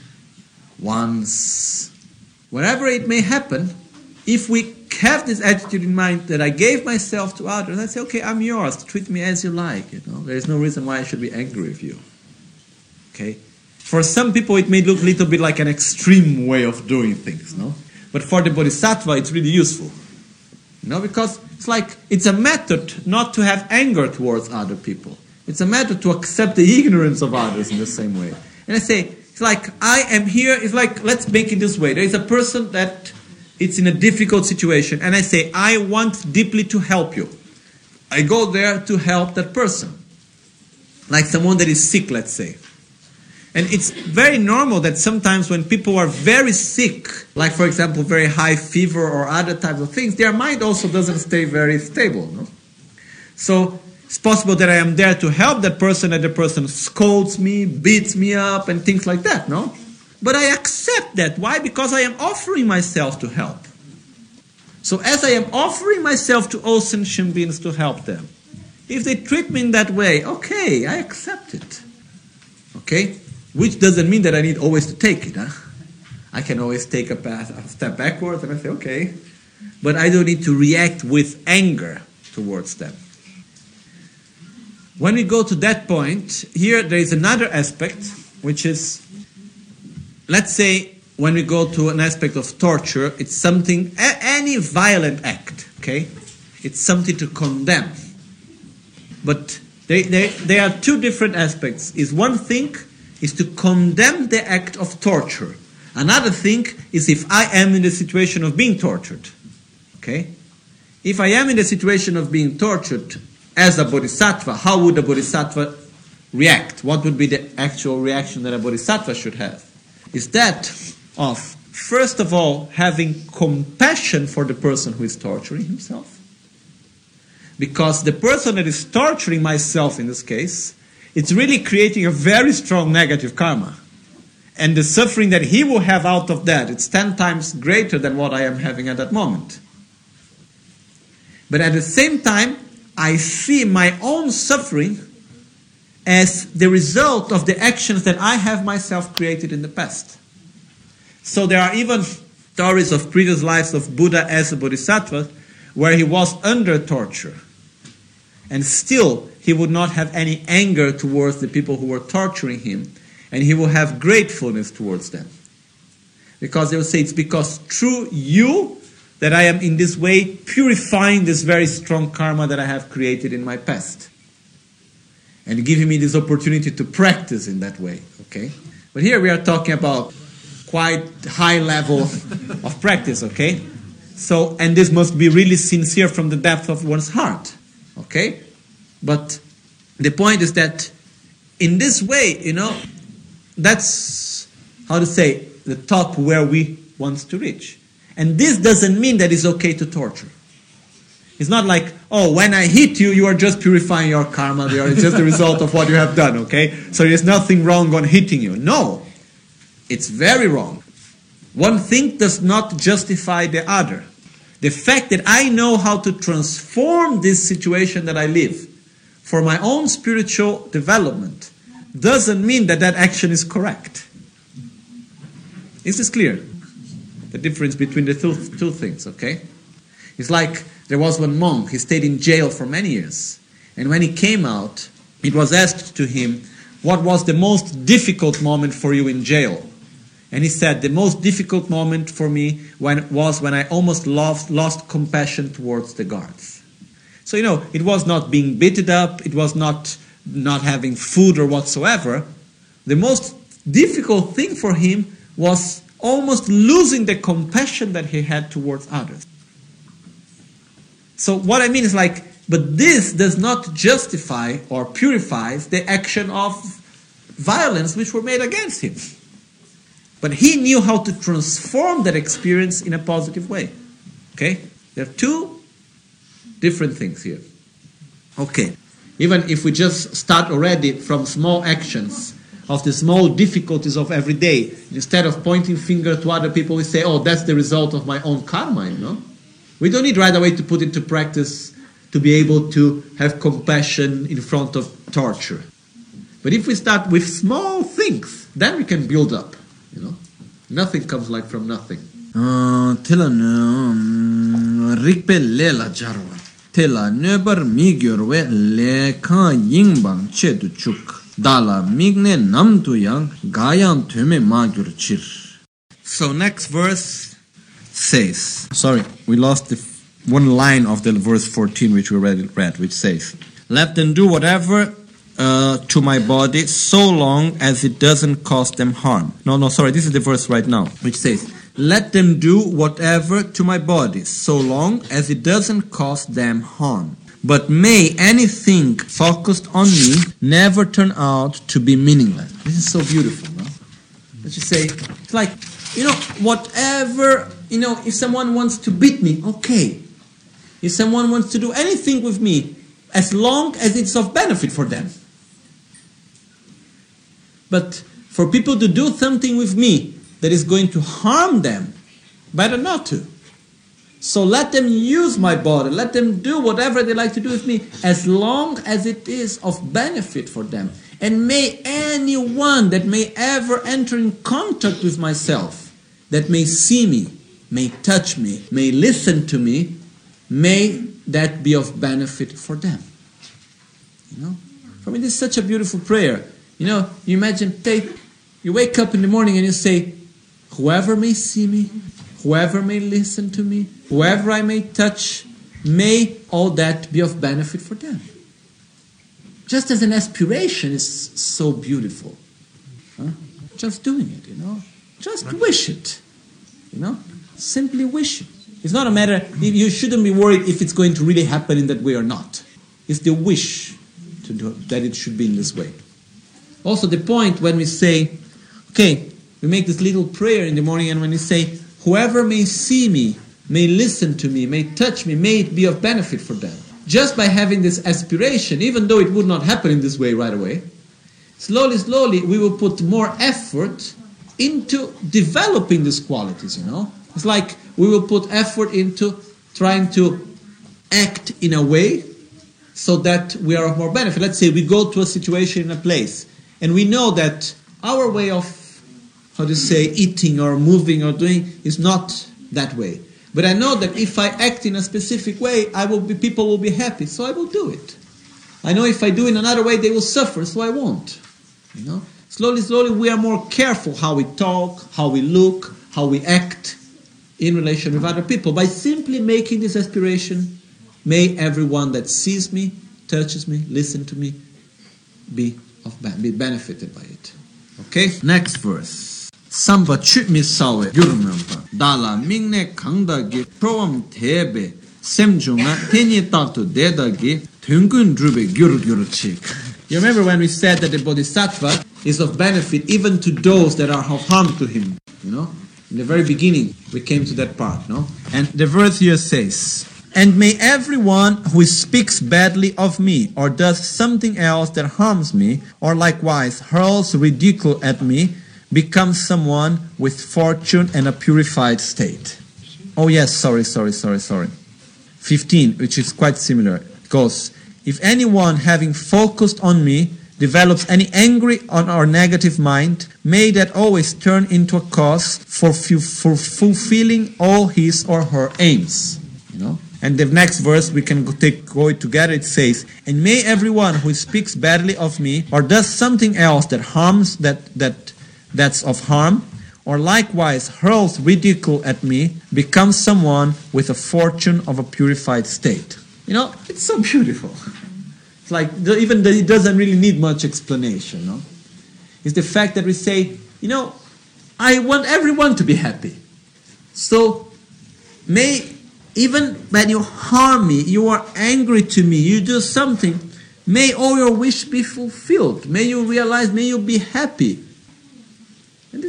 Once. Wherever it may happen, if we have this attitude in mind that I gave myself to others, I say, okay, I'm yours, treat me as you like, There is no reason why I should be angry with you. Okay? For some people it may look a little bit like an extreme way of doing things, But for the Bodhisattva, it's really useful. Because it's like, it's a method not to have anger towards other people. It's a matter to accept the ignorance of others in the same way. And I say, it's like, I am here, it's like, let's make it this way. There is a person that it's in a difficult situation, and I say, I want deeply to help you. I go there to help that person. Like someone that is sick, let's say. And it's very normal that sometimes when people are very sick, like for example, very high fever or other types of things, their mind also doesn't stay very stable. No? So it's possible that I am there to help that person, and the person scolds me, beats me up, and things like that, no? But I accept that. Why? Because I am offering myself to help. So as I am offering myself to all sentient beings to help them, if they treat me in that way, okay, I accept it. Okay? Which doesn't mean that I need always to take it. Huh? I can always take a step backwards and I say, okay. But I don't need to react with anger towards them. When we go to that point, here there is another aspect, which is, let's say, when we go to an aspect of torture, it's something, any violent act, okay? It's something to condemn. But there are two different aspects. One thing is to condemn the act of torture. Another thing is if I am in the situation of being tortured. Okay? If I am in the situation of being tortured as a bodhisattva, how would a bodhisattva react? What would be the actual reaction that a bodhisattva should have? Is that of, first of all, having compassion for the person who is torturing himself. Because the person that is torturing myself in this case, it's really creating a very strong negative karma. And the suffering that he will have out of that, it's 10 times greater than what I am having at that moment. But at the same time, I see my own suffering as the result of the actions that I have myself created in the past. So there are even stories of previous lives of Buddha as a bodhisattva where he was under torture. And still, he would not have any anger towards the people who were torturing him. And he will have gratefulness towards them. Because they will say, it's because through you that I am in this way purifying this very strong karma that I have created in my past. And giving me this opportunity to practice in that way. Okay? But here we are talking about quite high level of practice. Okay? So, and this must be really sincere from the depth of one's heart. Okay? But the point is that in this way, that's, how to say, the top where we want to reach. And this doesn't mean that it's okay to torture. It's not like, oh, when I hit you, you are just purifying your karma. It's just the result of what you have done, okay? So there's nothing wrong on hitting you. No. It's very wrong. One thing does not justify the other. The fact that I know how to transform this situation that I live for my own spiritual development doesn't mean that that action is correct. Is this clear? The difference between the two things, okay? It's like there was one monk, he stayed in jail for many years. And when he came out, it was asked to him, what was the most difficult moment for you in jail? And he said, the most difficult moment for me was when I almost lost compassion towards the guards. So, it was not being beaten up, it was not having food or whatsoever. The most difficult thing for him was almost losing the compassion that he had towards others. So what I mean is but this does not justify or purifies the action of violence which were made against him. But he knew how to transform that experience in a positive way. Okay? There are two different things here. Okay. Even if we just start already from small actions, of the small difficulties of every day, instead of pointing finger to other people, we say, oh, that's the result of my own karma, We don't need right away to put into practice to be able to have compassion in front of torture. But if we start with small things, then we can build up, Nothing comes from nothing. Tela nebar migyorwe le kan yingbang che du chuk. Dala migne nam tu yang gayang tume magyar chir. So next verse says, sorry, we lost the one line of the verse 14 which we read, which says, let them do whatever to my body so long as it doesn't cause them harm. Sorry, this is the verse right now, which says, let them do whatever to my body so long as it doesn't cause them harm. But may anything focused on me never turn out to be meaningless. This is so beautiful, no? Let's just say, it's like, whatever, if someone wants to beat me, okay. If someone wants to do anything with me, as long as it's of benefit for them. But for people to do something with me that is going to harm them, better not to. So let them use my body, let them do whatever they like to do with me, as long as it is of benefit for them. And may anyone that may ever enter in contact with myself, that may see me, may touch me, may listen to me, may that be of benefit for them. For me, this is such a beautiful prayer. You imagine, you wake up in the morning and you say, whoever may see me, whoever may listen to me, whoever I may touch, may all that be of benefit for them. Just as an aspiration is so beautiful. Just doing it, Just wish it. Simply wish it. It's not a matter, you shouldn't be worried if it's going to really happen in that way or not. It's the wish to do that it should be in this way. Also the point when we say, we make this little prayer in the morning, and when we say, whoever may see me, may listen to me, may touch me, may it be of benefit for them. Just by having this aspiration, even though it would not happen in this way right away, slowly we will put more effort into developing these qualities, It's like we will put effort into trying to act in a way so that we are of more benefit. Let's say we go to a situation in a place, and we know that our way of, eating or moving or doing is not that way. But I know that if I act in a specific way, people will be happy, so I will do it. I know if I do in another way, they will suffer, so I won't. Slowly, we are more careful how we talk, how we look, how we act in relation with other people. By simply making this aspiration, may everyone that sees me, touches me, listens to me, be benefited by it. Okay? Next verse. Samba chutmi sawe gyurmempa dala mingne kangdagi proam tebe semjunga tenye tatu dedagi tungun drube gyurchik. You remember when we said that the bodhisattva is of benefit even to those that are of harm to him, In the very beginning, we came to that part, no? And the verse here says, and may everyone who speaks badly of me, or does something else that harms me, or likewise hurls ridicule at me, become someone with fortune and a purified state. Oh yes, sorry. 15, which is quite similar, goes, if anyone having focused on me develops any angry or negative mind, may that always turn into a cause for fulfilling all his or her aims. And the next verse we can go it together. It says, and may everyone who speaks badly of me or does something else that harms that's of harm, or likewise hurls ridicule at me, become someone with a fortune of a purified state. It's so beautiful. It's like it doesn't really need much explanation. It's the fact that we say, I want everyone to be happy. So may, even when you harm me, you are angry to me, you do something, may all your wish be fulfilled. May you realize, may you be happy. And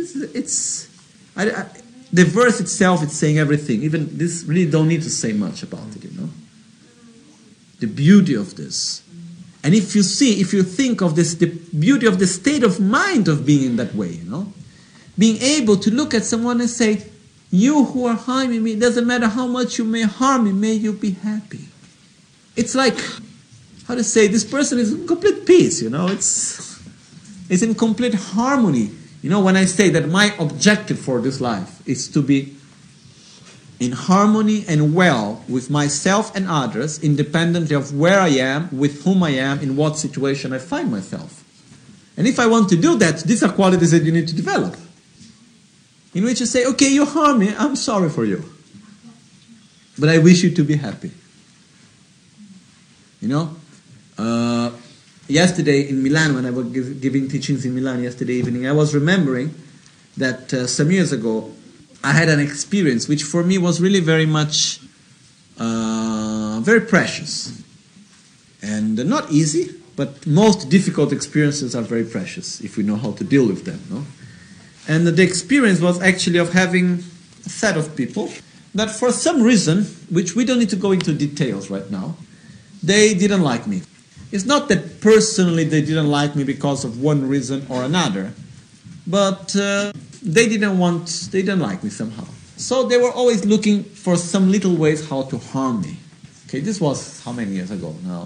the verse itself is saying everything. Even this really don't need to say much about it, The beauty of this. And if you think of this, the beauty of the state of mind of being in that way, Being able to look at someone and say, you who are harming me, it doesn't matter how much you may harm me, may you be happy. It's like, this person is in complete peace, It's in complete harmony. When I say that my objective for this life is to be in harmony and well with myself and others, independently of where I am, with whom I am, in what situation I find myself. And if I want to do that, these are qualities that you need to develop. In which you say, okay, you harm me, I'm sorry for you. But I wish you to be happy. yesterday in Milan, when I was giving teachings in Milan yesterday evening, I was remembering that some years ago I had an experience which for me was really very much very precious and not easy, but most difficult experiences are very precious if we know how to deal with them. No? And the experience was actually of having a set of people that for some reason, which we don't need to go into details right now, they didn't like me. It's not that personally they didn't like me because of one reason or another, but they didn't like me somehow. So they were always looking for some little ways how to harm me. Okay, this was how many years ago now?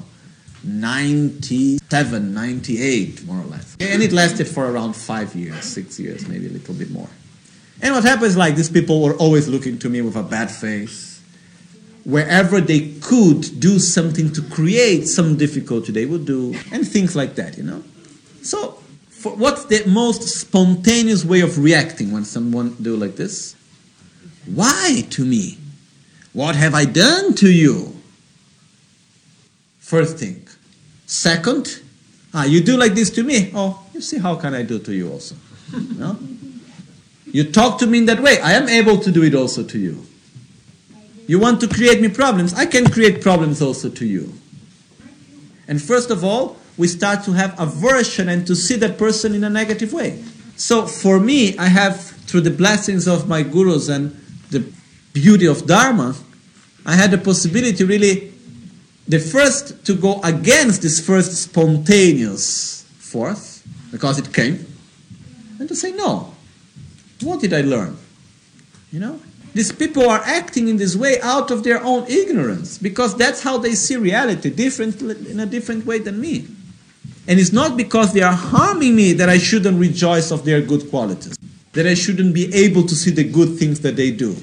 97, 98, more or less. And it lasted for around 5 years, 6 years, maybe a little bit more. And what happens, like, these people were always looking to me with a bad face. Wherever they could do something to create some difficulty, they would do, and things like that, you know. So, what's the most spontaneous way of reacting when someone do like this? Why to me? What have I done to you? First thing. Second, you do like this to me. Oh, you see, how can I do to you also? No? You talk to me in that way. I am able to do it also to you. You want to create me problems. I can create problems also to you. And first of all, we start to have aversion and to see that person in a negative way. So for me, I have, through the blessings of my gurus and the beauty of Dharma, I had the possibility really, the first to go against this first spontaneous force, because it came, and to say, no, what did I learn? You know? These people are acting in this way out of their own ignorance, because that's how they see reality, in a different way than me. And it's not because they are harming me that I shouldn't rejoice of their good qualities, that I shouldn't be able to see the good things that they do.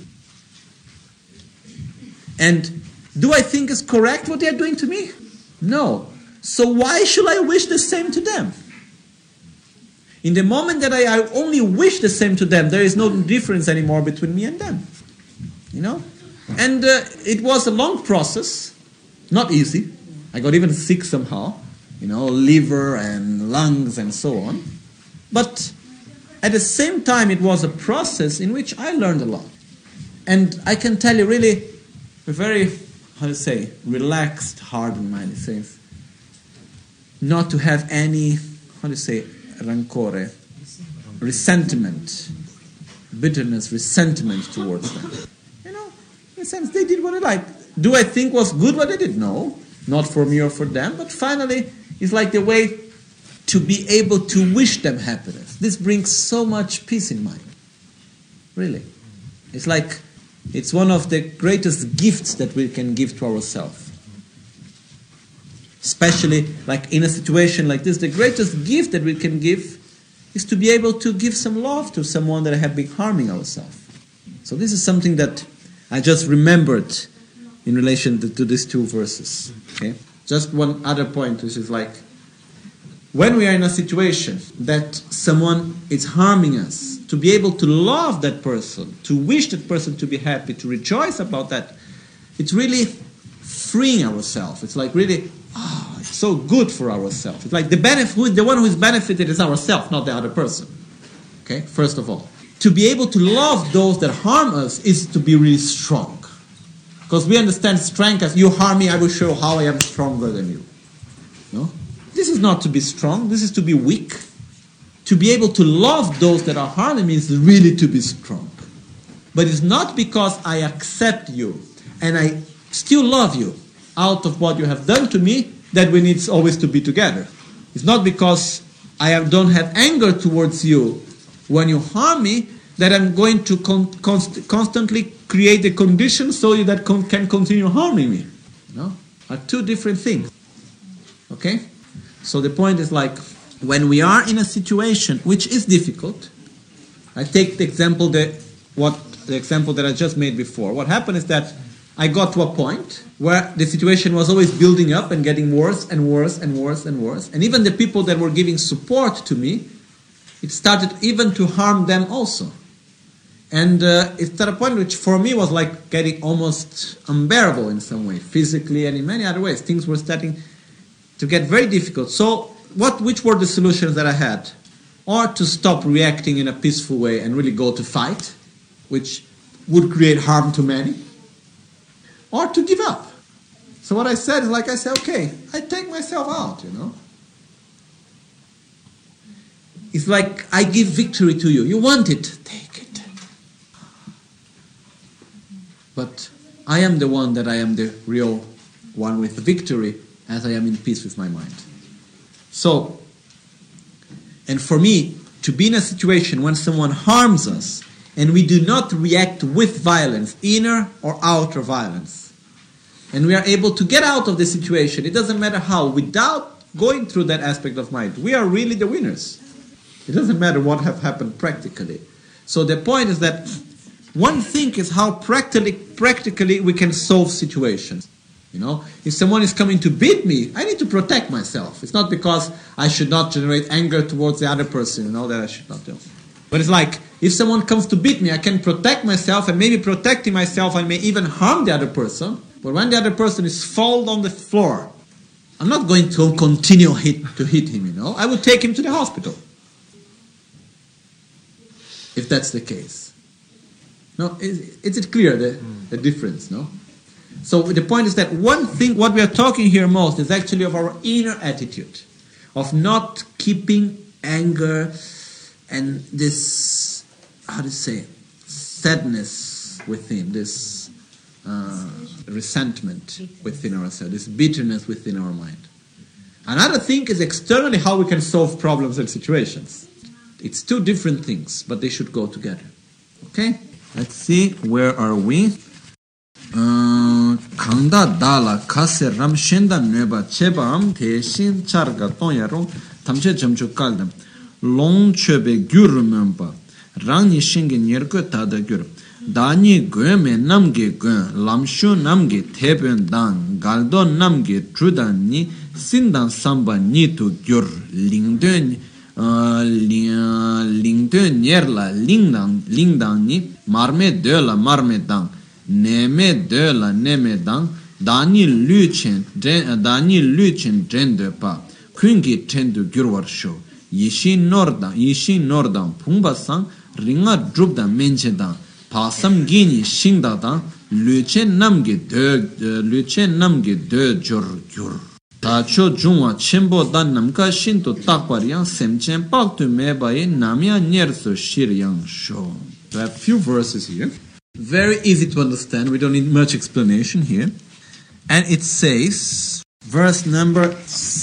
And do I think it's correct what they are doing to me? No. So why should I wish the same to them? In the moment that I only wish the same to them, there is no difference anymore between me and them. You know? And it was a long process, not easy. I got even sick somehow, you know, liver and lungs and so on. But at the same time, it was a process in which I learned a lot. And I can tell you really a very, relaxed heart and mind. It says not to have any, rancore, resentment, bitterness, resentment towards them. You know, in a sense, they did what they liked. Do I think was good what they did? No, not for me or for them. But finally, it's like the way to be able to wish them happiness. This brings so much peace in mind. Really. It's like, it's one of the greatest gifts that we can give to ourselves. Especially like in a situation like this, the greatest gift that we can give is to be able to give some love to someone that have been harming ourselves. So this is something that I just remembered in relation to these two verses. Okay? Just one other point, which is like, when we are in a situation that someone is harming us, to be able to love that person, to wish that person to be happy, to rejoice about that, it's really freeing ourselves. It's like really, it's so good for ourselves. It's like the one who is benefited is ourselves, not the other person. Okay, first of all. To be able to love those that harm us is to be really strong. Because we understand strength as, you harm me, I will show how I am stronger than you. No? This is not to be strong, this is to be weak. To be able to love those that are harming me is really to be strong. But it's not because I accept you and I still love you out of what you have done to me that we need always to be together. It's not because I don't have anger towards you when you harm me that I'm going to constantly create the conditions so that can continue harming me. No? Are two different things. Okay? So the point is like, when we are in a situation which is difficult, I take the example that I just made before. What happened is that I got to a point where the situation was always building up and getting worse and worse and worse and worse. And even the people that were giving support to me, it started even to harm them also. And it's at a point which for me was like getting almost unbearable in some way, physically and in many other ways. Things were starting to get very difficult. So which were the solutions that I had? Or to stop reacting in a peaceful way and really go to fight, which would create harm to many, or to give up. So what I said is, like I said, okay, I take myself out, It's like I give victory to you. You want it, take it. But I am the one that I am the real one with the victory, as I am in peace with my mind. So, and for me, to be in a situation when someone harms us, and we do not react with violence, inner or outer violence, and we are able to get out of the situation, it doesn't matter how, without going through that aspect of mind, we are really the winners. It doesn't matter what have happened practically. So the point is that one thing is how practically we can solve situations. If someone is coming to beat me, I need to protect myself. It's not because I should not generate anger towards the other person, that I should not do. But it's like, if someone comes to beat me, I can protect myself, and maybe protecting myself, I may even harm the other person. But when the other person is fall on the floor, I'm not going to continue to hit him, I will take him to the hospital. If that's the case. No, is it clear, the difference, no? So the point is that one thing, what we are talking here most, is actually of our inner attitude, of not keeping anger and this, sadness within, this resentment within ourselves, this bitterness within our mind. Another thing is externally how we can solve problems and situations. It's two different things, but they should go together. Okay? Let's see, where are we? 강다 달라 카세 람 셴다 뇌바 체밤 대신 차르가 돈야로 탐체 점주 깔담 롱체베 규르면바 랑니 싱게 녀르거 다다 규르 다니 괴메 남게 괴 람쇼 남게 대변단 갈도 남게 주단니 신단 삼바 니투 규르 링든 링든 녀르라 링당니 마르메 데라 마르메당 Neme de la neme dang, Dani Luchin Drende Pa, Kungi Tendu Gurwar Show, Yishin Nordang, Pumba Sang, Ringa Drubda Menchedang, Pasam Gini Shingdadang, Luchen Namge de Jur Gur. Tacho Jungwa Chembo Dan Namka Shinto Takwariang Semchen Paktu Mebaye Namia Nyerso Shiryang Show. I have a few verses here. Very easy to understand, we don't need much explanation here. And it says, verse number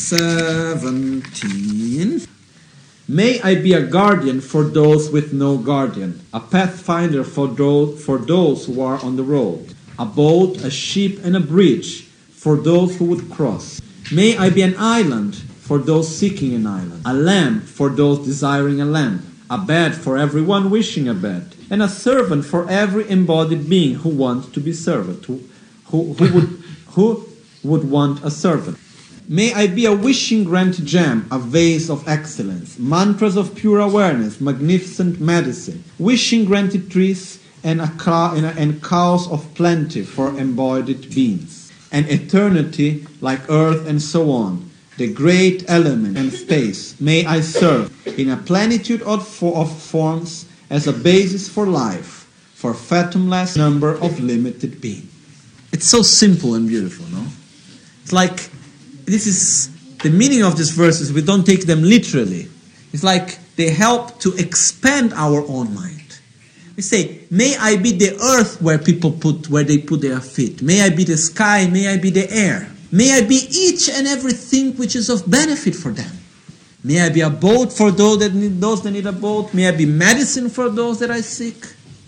17, May I be a guardian for those with no guardian, a pathfinder for those who are on the road, a boat, a ship, and a bridge for those who would cross. May I be an island for those seeking an island, a lamp for those desiring a lamp, a bed for everyone wishing a bed, and a servant for every embodied being who wants to be servant, who would want a servant. May I be a wishing grant gem, a vase of excellence, mantras of pure awareness, magnificent medicine, wishing granted trees, and cows of plenty for embodied beings, and eternity like earth and so on. The great element and space may I serve in a plenitude of forms as a basis for life, for fathomless number of limited beings. It's so simple and beautiful, no? It's like, this is, the meaning of these verses, we don't take them literally. It's like they help to expand our own mind. We say, may I be the earth where they put their feet. May I be the sky, may I be the air. May I be each and everything which is of benefit for them. May I be a boat for those that need a boat. May I be medicine for those that I seek.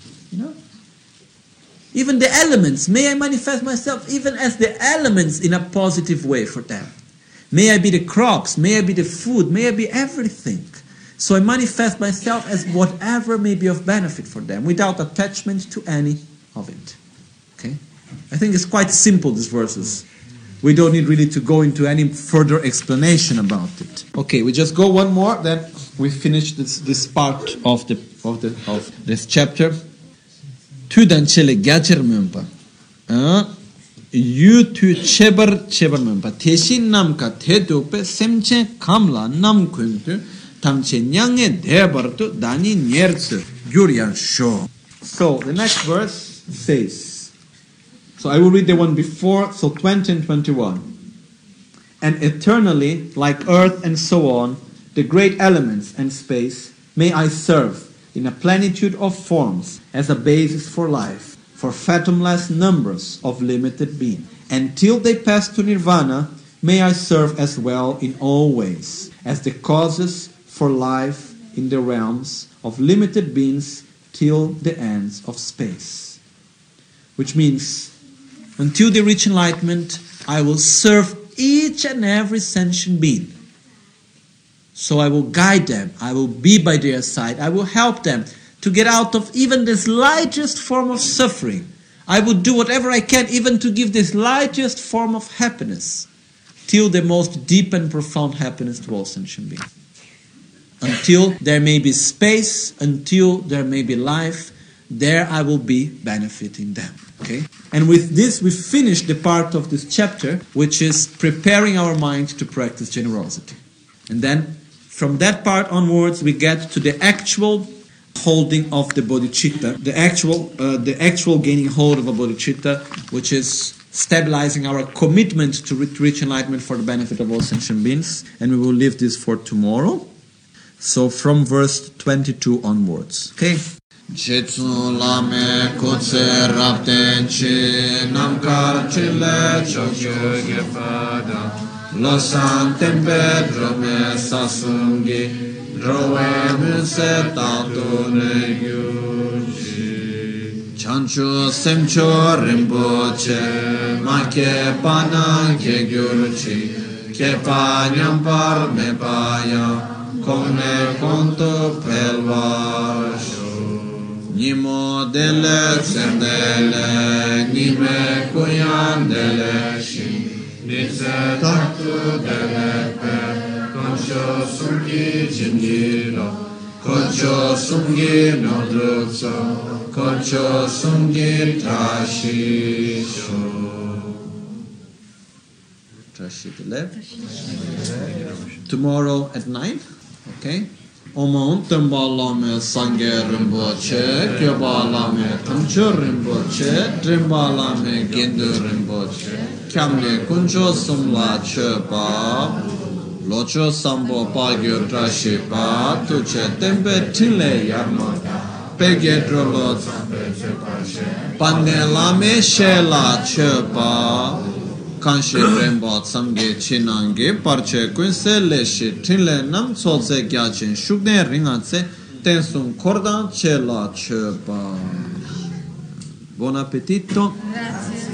Even the elements. May I manifest myself even as the elements in a positive way for them. May I be the crops. May I be the food. May I be everything. So I manifest myself as whatever may be of benefit for them without attachment to any of it. Okay? I think it's quite simple, these verses. We don't need really to go into any further explanation about it. Okay, we just go one more, then we finish this part of this chapter. Tudan chele gacher mempa. yu tu chebar mempa teshin nam ka tedu pe semche kamla nam kuntu tamche nyange debar tu dani nyertsu gyuryan sho. So the next verse says, so I will read the one before, so 20 and 21. And eternally, like earth and so on, the great elements and space, may I serve in a plenitude of forms as a basis for life, for fathomless numbers of limited being. Until they pass to nirvana, may I serve as well in all ways, as the causes for life in the realms of limited beings till the ends of space. Which means, until they reach enlightenment, I will serve each and every sentient being. So I will guide them, I will be by their side, I will help them to get out of even the slightest form of suffering. I will do whatever I can even to give the slightest form of happiness, till the most deep and profound happiness to all sentient beings. Until there may be space, until there may be life, there I will be benefiting them. Okay? And with this we finish the part of this chapter which is preparing our mind to practice generosity. And then from that part onwards we get to the actual holding of the bodhicitta, the actual gaining hold of a bodhicitta, which is stabilizing our commitment to reach enlightenment for the benefit of all sentient beings. And we will leave this for tomorrow. So from verse 22 onwards. Okay? Jetsu lame kutse rapten chi namkar chile chokyo gepada losan tempe drome sasungi drowe muse tatu ne gyurji chancho semcho rimpoche make pana ke gyurji ke pa nyampar me paya kone konto pelvasho Nimo dele sendele, nime kuyan dele shi, nitse tatu dele pe, koncho sungi jingiro, koncho sungi nodrutso, koncho sungi trashisho. Trashitile. Tomorrow at 9, okay? Omon Tembalame Sange Rimboche, Kyobalame Tamcho Rimboche, Trimbalame Gindu Rimboche, Kamle Kuncho Sumla Chepa, Locho Sambo Pagyo Trashipa, Tuche Tempe Tile Yarma, Pegedrolo Pandelame Shela Chepa, Kanshi Rembo Samge Chinange Parche Kunse Leshi Tinle Nam Tsolse Gyachin Shukne Ringatse Tensum Kordan Chela Chepa. Buon appetito.